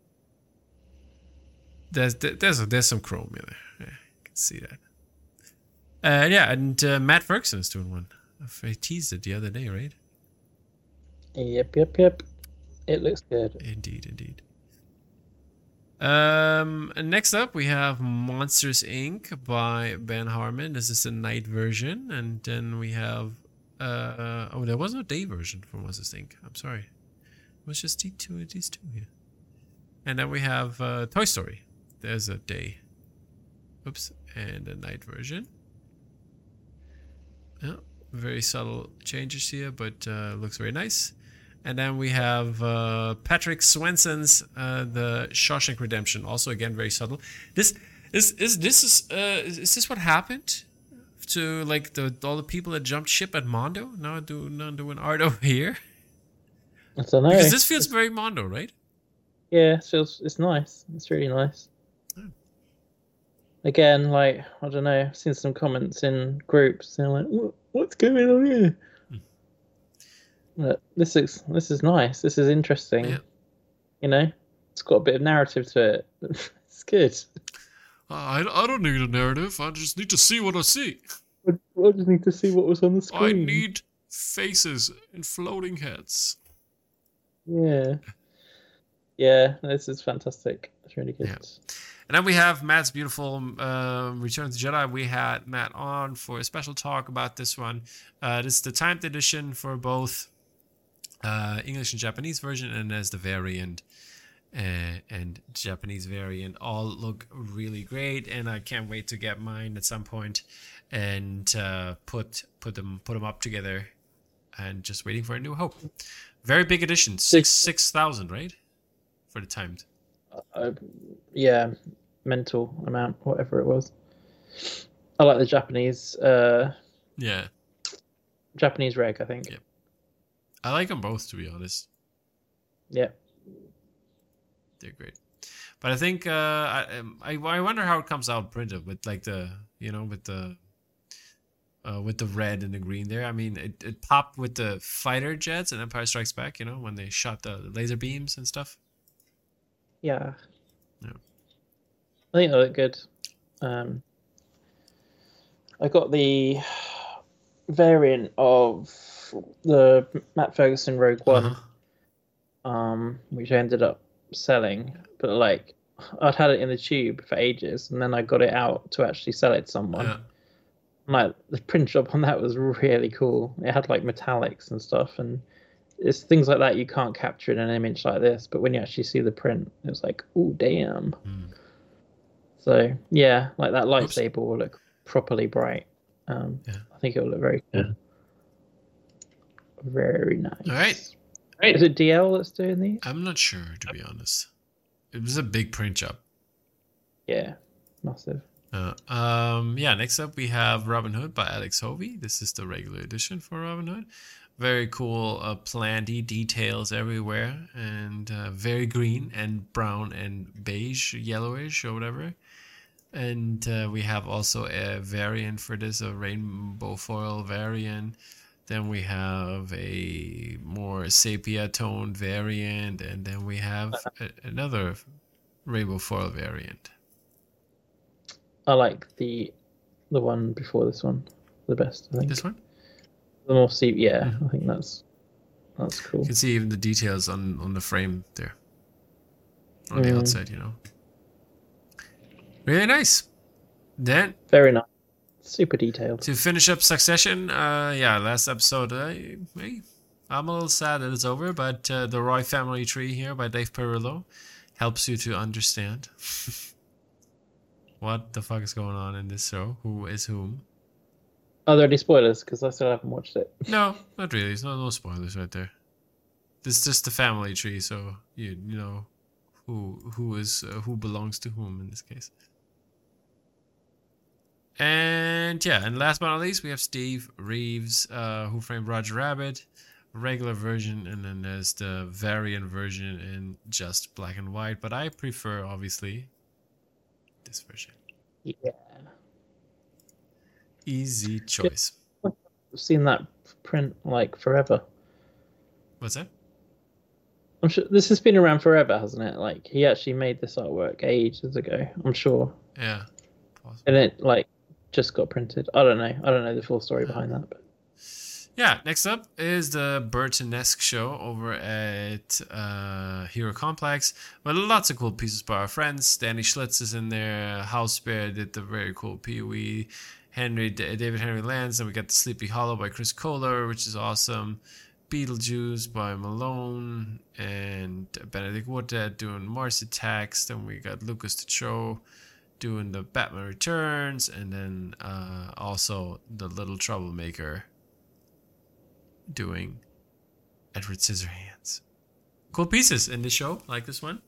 there's there's there's some chrome in there. Yeah, you can see that. Uh, yeah, and uh, Matt Ferguson is doing one. I teased it the other day, right? Yep, yep, yep. It looks good. Indeed, indeed. Um, and next up, we have Monsters Incorporated by Ben Harmon. This is the night version, and then we have uh oh, there was no day version for Monsters Incorporated. I'm sorry. It was just these two, these two here. And then we have uh, Toy Story. There's a day. Oops. And a night version. Yeah, very subtle changes here, but uh, looks very nice. And then we have uh, Patrick Swenson's uh, The Shawshank Redemption. Also, again, very subtle. This is is this is uh, is this what happened to like the all the people that jumped ship at Mondo? Now do now doing art over here. I don't know. Because this feels very Mondo, right? Yeah, it feels it's nice. It's really nice. Oh. Again, like I don't know. I've seen some comments in groups. They're like, what, "What's going on here?" Hmm. But this is this is nice. This is interesting. Yeah. You know, it's got a bit of narrative to it. It's good. Uh, I I don't need a narrative. I just need to see what I see. I, I just need to see what was on the screen. I need faces and floating heads. Yeah. Yeah, this is fantastic. It's really good. Yeah. And then we have Matt's beautiful uh, Return of the Jedi. We had Matt on for a special talk about this one. Uh, this is the timed edition for both uh, English and Japanese version, and there's the variant uh, and Japanese variant. All look really great, and I can't wait to get mine at some point and uh, put put them put them up together. And just waiting for a new hope. Very big edition, six six thousand, right? For the timed. Uh, yeah, mental amount, whatever it was. I like the Japanese. Uh, yeah. Japanese reg, I think. Yeah. I like them both, to be honest. Yeah. They're great, but I think uh, I, I I wonder how it comes out printed with like the you know with the. Uh, with the red and the green there. I mean, it, it popped with the fighter jets and Empire Strikes Back, you know, when they shot the laser beams and stuff. Yeah. Yeah. I think they look good. Um, I got the variant of the Matt Ferguson Rogue One, uh-huh. um, which I ended up selling. But, like, I'd had it in the tube for ages, and then I got it out to actually sell it to someone. Yeah. Like the print job on that was really cool. It had like metallics and stuff, and it's things like that you can't capture in an image like this. But when you actually see the print, it was like, oh damn. Mm. So yeah, like that lightsaber Oops. will look properly bright. Um, yeah. I think it will look very cool. Yeah. Very nice. All right. Is it D L that's doing these? I'm not sure, to be honest. It was a big print job. Yeah, massive. Uh, um, yeah, next up we have Robin Hood by Alex Hovey. This is the regular edition for Robin Hood. Very cool, uh, planty details everywhere, and uh, very green and brown and beige, yellowish or whatever. And uh, we have also a variant for this, a rainbow foil variant. Then we have a more sepia toned variant, and then we have a, another rainbow foil variant. I like the the one before this one the best. I think This one, the more sepia. Yeah, Mhm. I think that's that's cool. you can see even the details on on the frame there, on the Mm. outside. You know, really nice. Then Very nice, super detailed. to finish up Succession, uh, yeah, last episode. Uh, hey, I'm a little sad that it's over, but uh, the Roy Family Tree here by Dave Perillo helps you to understand what the fuck is going on in this show. Who is whom? Are there any spoilers? Because I still haven't watched it. No, not really. There's no no spoilers right there. This is just the family tree, so you you know who who is uh, who belongs to whom in this case. And yeah, and last but not least, we have Steve Reeves, uh, Who Framed Roger Rabbit, regular version, and then there's the variant version in just black and white. But I prefer, obviously, this version. Yeah, Easy choice. I've seen that print like forever. What's that? I'm sure this has been around forever, hasn't it? Like he actually made this artwork ages ago. I'm sure, Yeah. Possible. and it like just got printed. I don't know. I don't know the full story behind that, but Yeah, next up is the Burton-esque show over at uh, Hero Complex. With lots of cool pieces by our friends. Danny Schlitz is in there. House Bear did the very cool Pee-wee. Henry, D- David Henry Lance. And we got the Sleepy Hollow by Chris Kohler, which is awesome. Beetlejuice by Malone. And Benedict Woodhead doing Mars Attacks. Then we got Lucas Techo doing the Batman Returns. And then uh, also the Little Troublemaker doing Edward Scissorhands. Cool pieces in this show, like this one.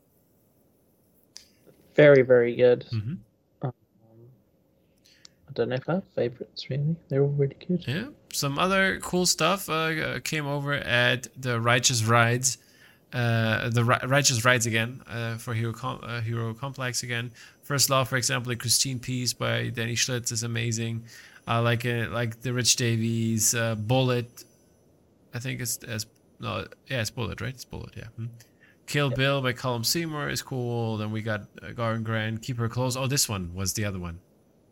very, very good. Mm-hmm. Um, I don't know if I have favorites really. They're all really good. Yeah, some other cool stuff uh, came over at the Righteous Rides, uh, the Ri- Righteous Rides again uh, for Hero Com- uh, Hero Complex again. First Law, for example, the Christine piece by Danny Schlitz is amazing. I like it, like the Rich Davies uh, Bullet. I think it's as no, yeah, it's Bullet, right? It's Bullet, yeah. Hmm. Kill Bill by Colum Seymour is cool. Then we got uh, Garen Grant, Keep Her Close. Oh, this one was the other one.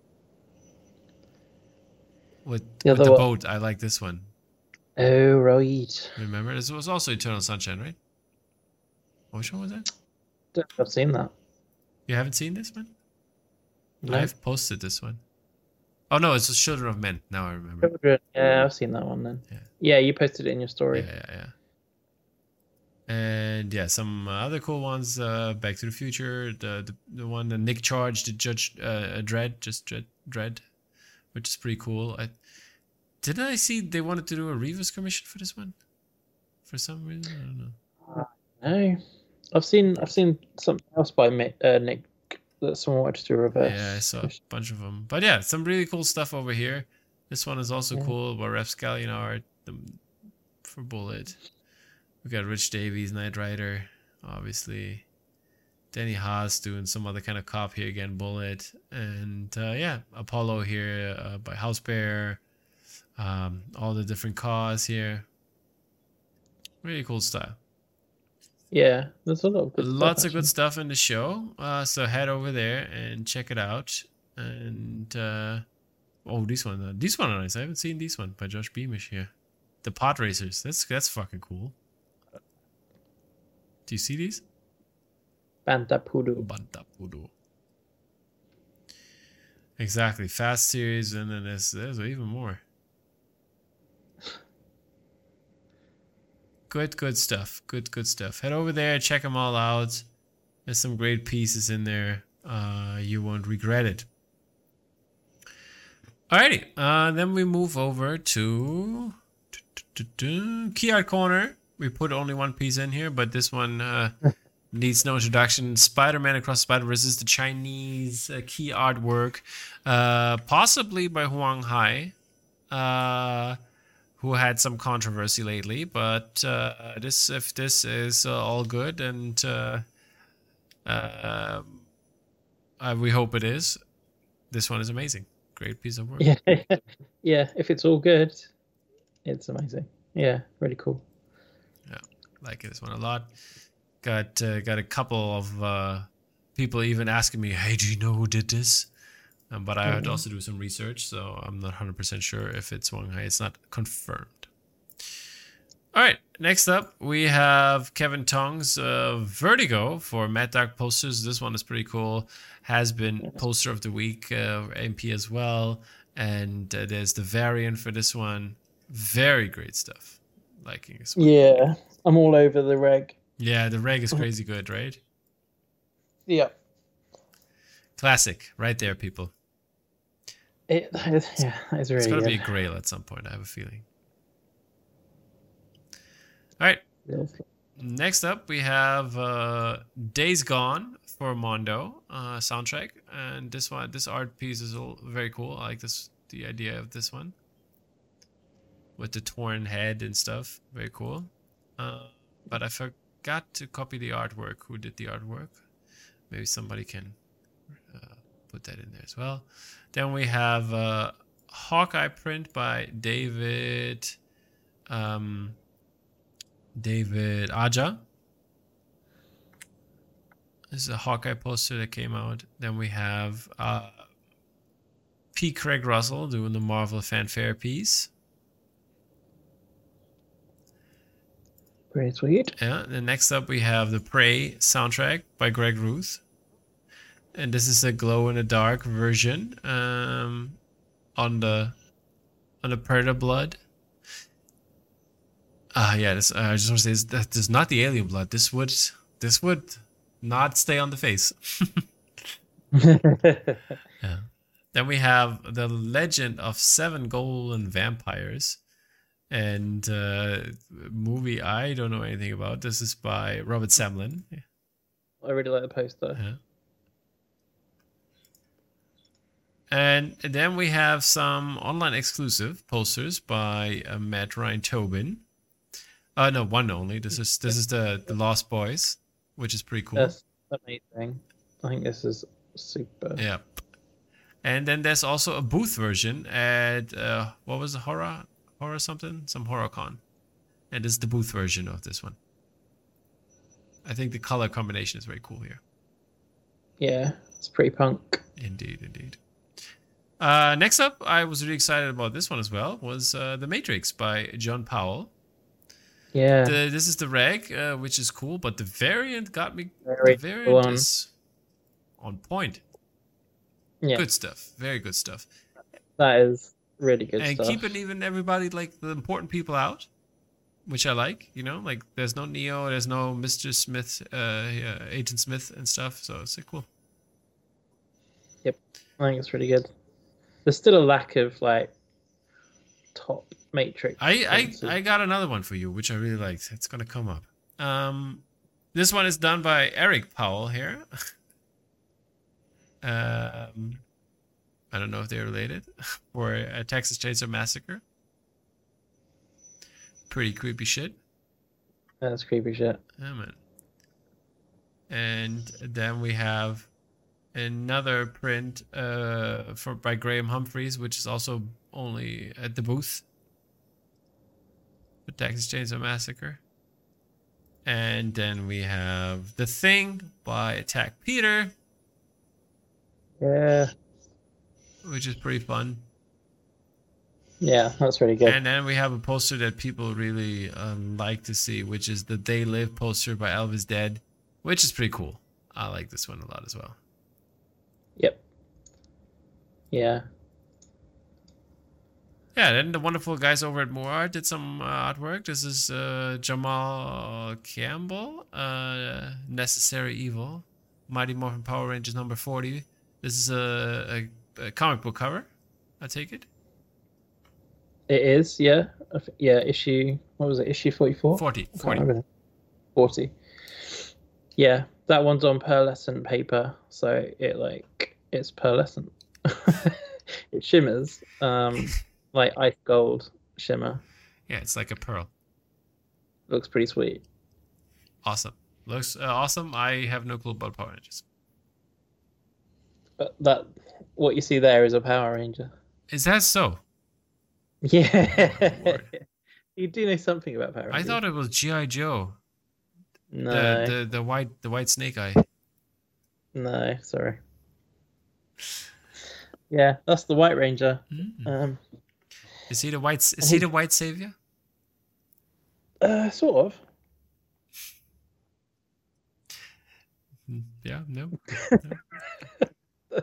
With, The with other the one. boat, I like this one. Oh right. Remember, this was also Eternal Sunshine, right? Oh, which one was that? Don't think I've seen that. You haven't seen this one? No. I've posted this one. Oh no, it's the Children of Men. Now I remember. Children. Yeah, I've seen that one then. Yeah. Yeah, you posted it in your story. Yeah, yeah, yeah. And yeah, some uh, other cool ones. Uh, Back to the Future, the the, the one that Nick Charge, the Judge uh, Dredd, just Dredd, Dredd, which is pretty cool. I didn't I see they wanted to do a Revis commission for this one, for some reason. I don't know. No, I've seen I've seen something else by Mi- uh, Nick that someone wanted to do a reverse. Yeah, I saw a bunch of them. But yeah, some really cool stuff over here. This one is also Yeah. cool by Ref Scallion art the, for Bullet. We got Rich Davies, Knight Rider, obviously. Danny Haas doing some other kind of cop here again, Bullet. And uh, yeah, Apollo here uh, by House Bear. Um, all the different cars here. Really cool stuff. Yeah, there's a lot of good Lots stuff, of good stuff in the show. Uh, so head over there and check it out. And uh, oh, this one, uh, these one are nice. I haven't seen this one by Josh Beamish here. The Pod Racers. That's that's fucking cool. Do you see these? Bantapudu. Bantapudo. Exactly. Fast series, and then there's there's even more. Good, good stuff. Good, good stuff. Head over there, check them all out. There's some great pieces in there. Uh, you won't regret it. Alrighty. Uh, then we move over to Key Art Corner. We put only one piece in here, but this one uh, needs no introduction. Spider-Man Across the Spider-Verse is the Chinese uh, key artwork, uh, possibly by Huang Hai, uh, who had some controversy lately. But uh, this, if this is uh, all good, and uh, uh, uh, we hope it is, this one is amazing. Great piece of work. Yeah, yeah. If it's all good, it's amazing. Yeah, really cool. Yeah, like this one a lot. Got uh, got a couple of uh, people even asking me, "Hey, do you know who did this?" Um, but I had to also do some research, so I'm not one hundred percent sure if it's Wang Hai. It's not confirmed. All right, next up we have Kevin Tong's uh, Vertigo for Mad Dog posters. This one is pretty cool. Has been poster of the week, uh, M P as well, and uh, there's the variant for this one. Very great stuff. Liking this one. Yeah, I'm all over the reg. Yeah, the reg is crazy good, right? Yeah. Classic, right there, people. It, yeah, it's really It's gonna good. be a grail at some point, I have a feeling. All right. Yes. Next up, we have uh, Days Gone for Mondo uh, soundtrack, and this one, this art piece is all very cool. I like this, the idea of this one with the torn head and stuff. Very cool. Uh, but I forgot to copy the artwork. Who did the artwork? Maybe somebody can uh, put that in there as well. Then we have uh, Hawkeye print by David. Um, David Aja. This is a Hawkeye poster that came out. Then we have uh, P. Craig Russell doing the Marvel fanfare piece. Pretty sweet. Yeah. Then next up we have the Prey soundtrack by Greg Ruth, and this is a glow in the dark version um, on the on the Predator blood. Ah, uh, yeah. This, uh, I just want to say this, that this is not the alien blood. This would this would not stay on the face. Yeah. Then we have the Legend of Seven Golden Vampires, and uh, movie I don't know anything about. This is by Robert Samlin. Yeah. I really like the poster. Yeah. And then we have some online exclusive posters by uh, Matt Ryan Tobin. Uh, no, one only. This is this is the the Lost Boys, which is pretty cool. That's amazing. I think this is super. Yeah. And then there's also a booth version at uh, what was it, horror horror something some HorrorCon, and this is the booth version of this one. I think the color combination is very cool here. Yeah, it's pretty punk. Indeed, indeed. Uh, next up, I was really excited about this one as well. Was uh, The Matrix by John Powell. Yeah. The, this is the reg, uh, which is cool, but the variant got me. Very the variant cool is on point. Yeah. Good stuff. Very good stuff. That is really good and stuff. keeping even everybody, like the important people out, which I like. You know, like there's no Neo, there's no Mister Smith, uh, yeah, Agent Smith and stuff. So it's like, cool. Yep, I think it's really good. There's still a lack of like top Matrix. I, I I got another one for you, which I really liked. It's gonna come up. Um, this one is done by Eric Powell here. um, I don't know if they're related. For a Texas Chainsaw Massacre. Pretty creepy shit. That's creepy shit. Yeah, man. And then we have another print uh, for by Graham Humphreys, which is also only at the booth. The Texas Chainsaw Massacre. And then we have The Thing by Attack Peter. Yeah. Which is pretty fun. Yeah, that's really good. And then we have a poster that people really um, like to see, which is the They Live poster by Elvis Dead, which is pretty cool. I like this one a lot as well. Yep. Yeah. Yeah, then the wonderful guys over at More Art did some uh, artwork. This is uh, Jamal Campbell, uh, Necessary Evil, Mighty Morphin Power Rangers number forty. This is a, a, a comic book cover, I take it. It is, yeah. Yeah, issue, what was it, issue forty-four? forty. I can't forty. remember. forty. Yeah, that one's on pearlescent paper, so it like it's pearlescent. It shimmers, um, like ice gold shimmer. Yeah, it's like a pearl. Looks pretty sweet. Awesome. Looks uh, awesome. I have no clue about Power Rangers. But that what you see there is a Power Ranger. Is that so? Yeah. You do know something about Power Rangers. I thought it was G I. Joe. No. The, the the white the white snake eye. No, sorry. Yeah, that's the White Ranger. Mm. Um, is he the white? Is he the white savior? Uh, sort of. Yeah. No. no.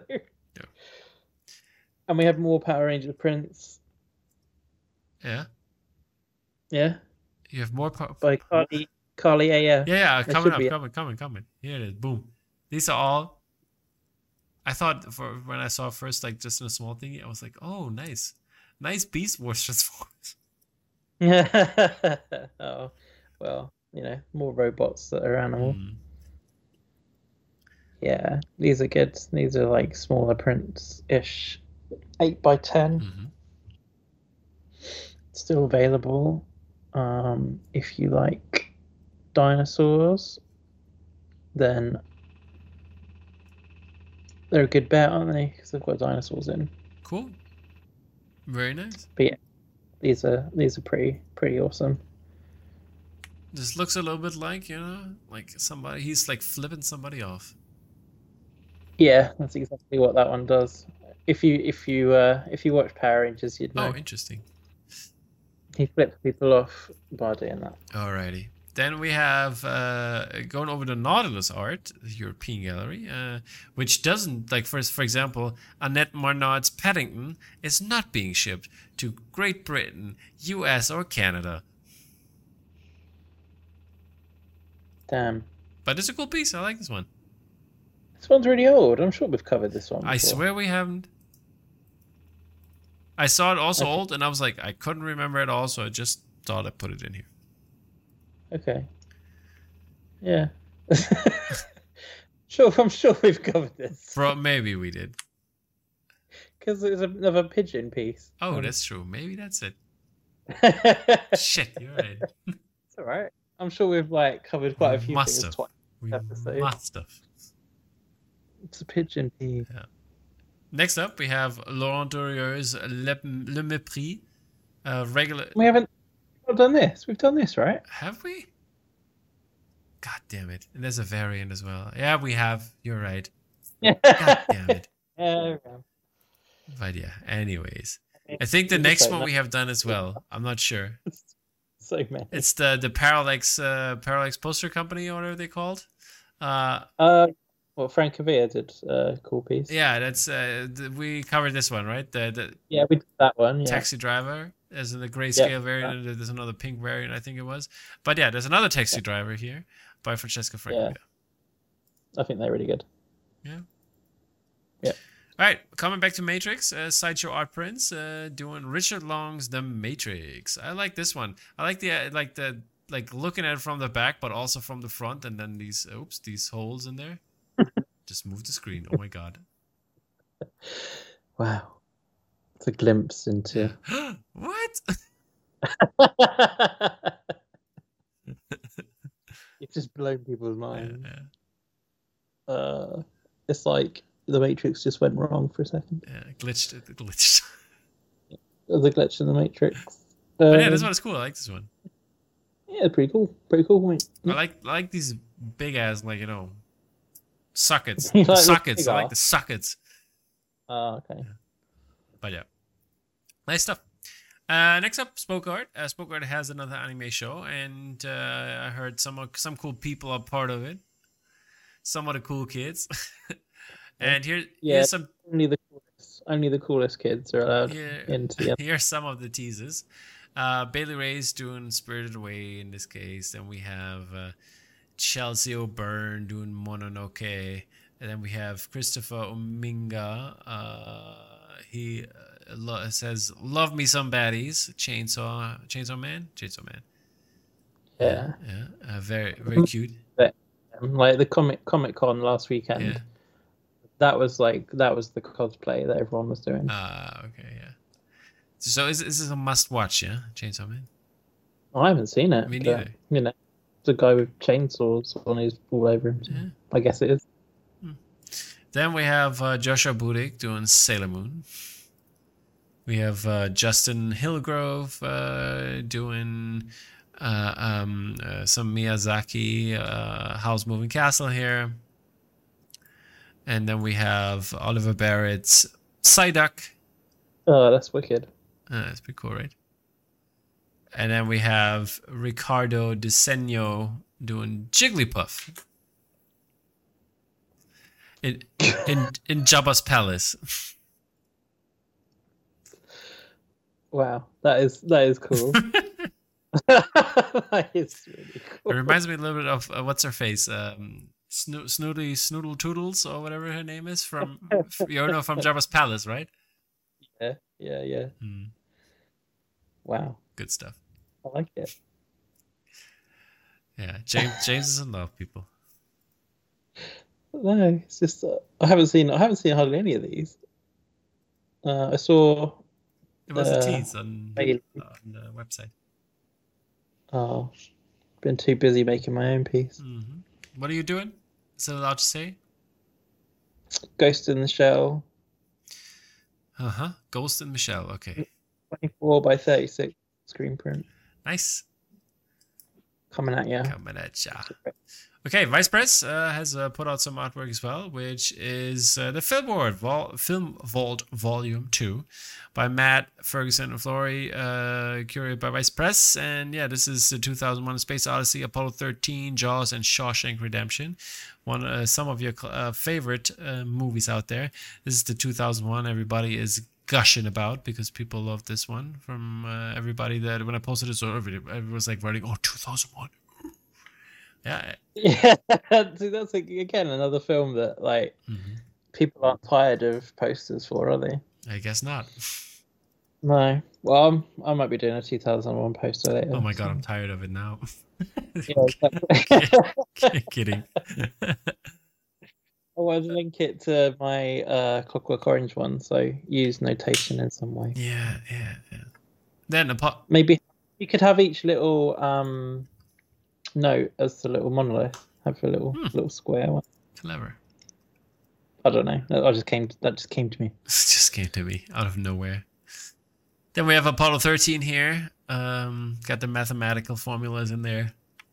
And we have more Power Ranger prints. Yeah. Yeah. You have more po- by Carly Carly A F. Yeah, yeah, coming up, coming, coming, coming. Here it is. Boom. These are all. I thought for when I saw first, like just in a small thing, I was like, oh, nice, nice Beast Wars Transformers. Oh, well, you know, more robots that are animal. Mm. Yeah, these are good. These are like smaller prints ish, eight by ten. Mm-hmm. Still available. Um, if you like dinosaurs, then they're a good bet, aren't they? Because they've got dinosaurs in. Cool. Very nice. But yeah, these are these are pretty pretty awesome. This looks a little bit like, you know, like somebody he's like flipping somebody off. Yeah, that's exactly what that one does. If you if you uh, if you watch Power Rangers, you'd know. Oh, interesting. He flips people off by doing that. Alrighty. Then we have uh, going over the Nautilus art, the European gallery, uh, which doesn't, like, for, for example, Annette Marnard's Paddington is not being shipped to Great Britain, U S, or Canada. Damn. But it's a cool piece. I like this one. This one's really old. I'm sure we've covered this one before. I swear we haven't. I saw it also okay. old, and I was like, I couldn't remember it all, so I just thought I'd put it in here. Okay. Yeah. Sure, I'm sure we've covered this. Bro, maybe we did. Because there's another pigeon piece. Oh, um, that's true. Maybe that's it. Shit, you're right. It's all right. I'm sure we've like covered quite a few must things. Have. We episode. must have. It's a pigeon piece. Yeah. Next up, we have Laurent Durier's Le, Le Mépris. Uh, regular. We haven't we've done this. We've done this, right? Have we? God damn it. And there's a variant as well. Yeah, we have. You're right. God damn it. Yeah, but yeah, anyways. I think the next one we have done as well. I'm not sure. So many. It's the, the Parallax, uh, Parallax Poster Company, or whatever they called. Uh, uh, well, Frank Cavia did a cool piece. Yeah, that's uh, the, we covered this one, right? The, the yeah, we did that one. Yeah. Taxi Driver, as in the grayscale yeah, variant. yeah. There's another pink variant, I think it was. But yeah, there's another Taxi yeah. Driver here by Francesca Francavilla. Yeah. I think they're really good. Yeah. Yeah. All right, coming back to Matrix, uh, Sideshow Art Prints, uh, doing Richard Long's The Matrix. I like this one. I like the uh, like the like looking at it from the back, but also from the front, and then these oops, these holes in there. Just move the screen. Oh my god! Wow, it's a glimpse into what? It's just blown people's minds. Yeah, yeah. Uh, it's like the Matrix just went wrong for a second. Yeah, glitched. It glitched. There's a glitch in the Matrix. But um, yeah, this one is cool. I like this one. Yeah, pretty cool. Pretty cool. Mate. I like I like these big ass, like, you know, sockets. like the sockets. I like the sockets. Oh, okay. Yeah. But yeah, nice stuff. Uh, next up, Spoke Art. Uh, Spoke Art has another anime show, and uh, I heard some some cool people are part of it. Some of the cool kids. And here, yeah, here's some only the coolest, only the coolest kids are allowed here, into the. Here's some of the teasers. Uh, Bailey Ray's doing Spirited Away in this case. Then we have uh, Chelsea O'Byrne doing Mononoke, and then we have Christopher Ominga. Uh, he uh, lo- says, "Love me some baddies." Chainsaw, Chainsaw Man, Chainsaw Man. Yeah, yeah, uh, very very cute. But like the comic Comic Con last weekend. Yeah. That was like that was the cosplay that everyone was doing. Ah, uh, okay, yeah. So is is this a must watch? Yeah, Chainsaw Man. I haven't seen it. Me but, neither. You know, it's a guy with chainsaws on his all over him. So Yeah. I guess it is. Hmm. Then we have uh, Joshua Budik doing Sailor Moon. We have uh, Justin Hillgrove uh, doing uh, um, uh, some Miyazaki uh, Howl's Moving Castle here. And then we have Oliver Barrett's Psyduck. Oh, that's wicked. Uh, that's pretty cool, right? And then we have Ricardo Diseño doing Jigglypuff. In, in, in Jabba's palace. Wow, that is that is cool. That is really cool. It reminds me a little bit of uh, what's her face, um, Sno- Snooty Snoodle Toodles or whatever her name is from you know from Jabba's palace, right? Yeah, yeah, yeah. Mm. Wow, Good stuff. I like it. Yeah, James James is in love, people. No, it's just uh, I haven't seen I haven't seen hardly any of these. Uh, I saw. It was uh, a tease on, Bailey. on the website. Oh, been too busy making my own piece. Mm-hmm. What are you doing? Is it allowed to say? Ghost in the Shell, Uh huh. Ghost and Michelle. Okay. twenty-four by thirty-six screen print Nice. coming at you. Coming at ya. Okay, Vice Press uh, has uh, put out some artwork as well, which is uh, the Film Vault, Vol- Film Vault Volume two by Matt Ferguson and Flory, uh, curated by Vice Press. And yeah, this is the two thousand one Space Odyssey, Apollo thirteen, Jaws, and Shawshank Redemption. One, uh, some of your uh, favorite uh, movies out there. This is the two thousand one everybody is gushing about because people love this one from uh, everybody that when I posted it, so everybody, everybody was like writing, oh, two thousand one. Yeah. Yeah, see, that's like, again another film that like Mm-hmm. people aren't tired of posters for, are they? I guess not. No. Well, I'm, I might be doing a two thousand one poster later. Oh my god, so- I'm tired of it now. Yeah, exactly. Kidding. I want to link it to my uh, Clockwork Orange one, so use notation in some way. yeah, yeah, yeah. Then apo- Maybe you could have each little um, note as the little monolith. Have a little Hmm. little square one. clever. I don't know. That I just came. That just came to me. It just came to me out of nowhere. Then we have Apollo thirteen here. Um, got the mathematical formulas in there.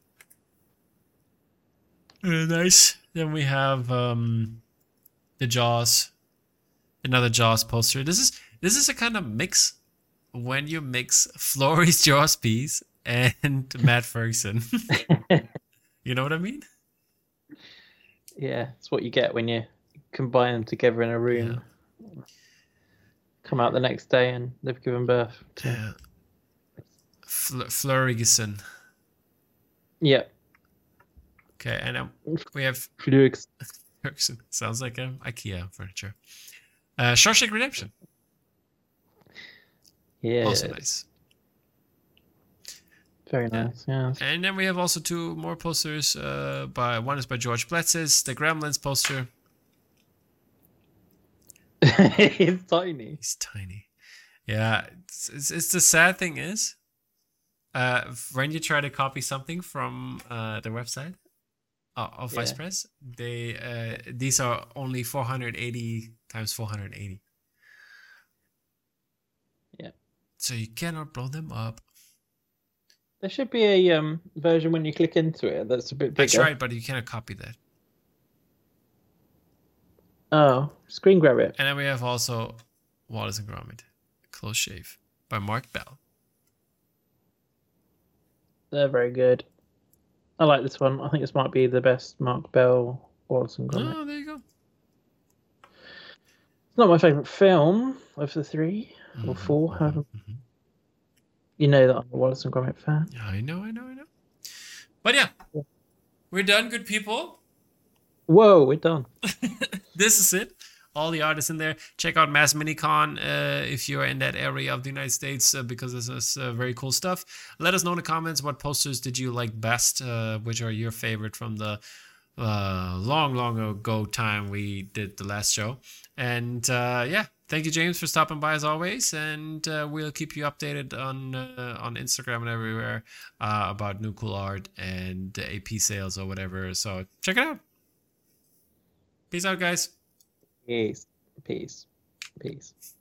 Uh, nice. Then we have um, the Jaws, another Jaws poster. This is this is a kind of mix when you mix Flory's Jaws piece and Matt Ferguson. You know what I mean? Yeah, it's what you get when you combine them together in a room. Come out the next day and they've given birth. To... Yeah. Fl- Flurigison. Yeah. Okay, and um, we have Flux. Ferguson. Sounds like um, IKEA furniture. Uh, Shawshank Redemption. Yeah. Also nice. Very nice. Yeah. And then we have also two more posters. Uh, by one is by George Bletzis, the Gremlins poster. It's tiny. He's tiny. Yeah, it's, it's, it's the sad thing is, uh, when you try to copy something from uh, the website uh, of Vice Yeah. Press, they uh, these are only four hundred eighty times four hundred eighty. Yeah. So you cannot blow them up. There should be a um version when you click into it that's a bit bigger. That's right, but you cannot copy that. Oh, screen grab it. And then we have also Wallace and Gromit, Close Shave by Mark Bell. They're very good. I like this one. I think this might be the best Mark Bell Wallace and Gromit. Oh, there you go. It's not my favourite film of the three or Mhm, four. mhm, However, mhm. you know that I'm a Wallace and Gromit fan. Yeah, I know, I know, I know. But yeah, Yeah. we're done, good people. Whoa, we're done. This is it. All the artists in there. Check out Mass Minicon uh, if you're in that area of the United States uh, because this is uh, very cool stuff. Let us know in the comments what posters did you like best, uh, which are your favorite from the uh, long, long ago time we did the last show. And uh, yeah, thank you, James, for stopping by as always. And uh, we'll keep you updated on uh, on Instagram and everywhere uh, about new cool art and A P sales or whatever. So check it out. Peace out, guys. Peace. Peace. Peace.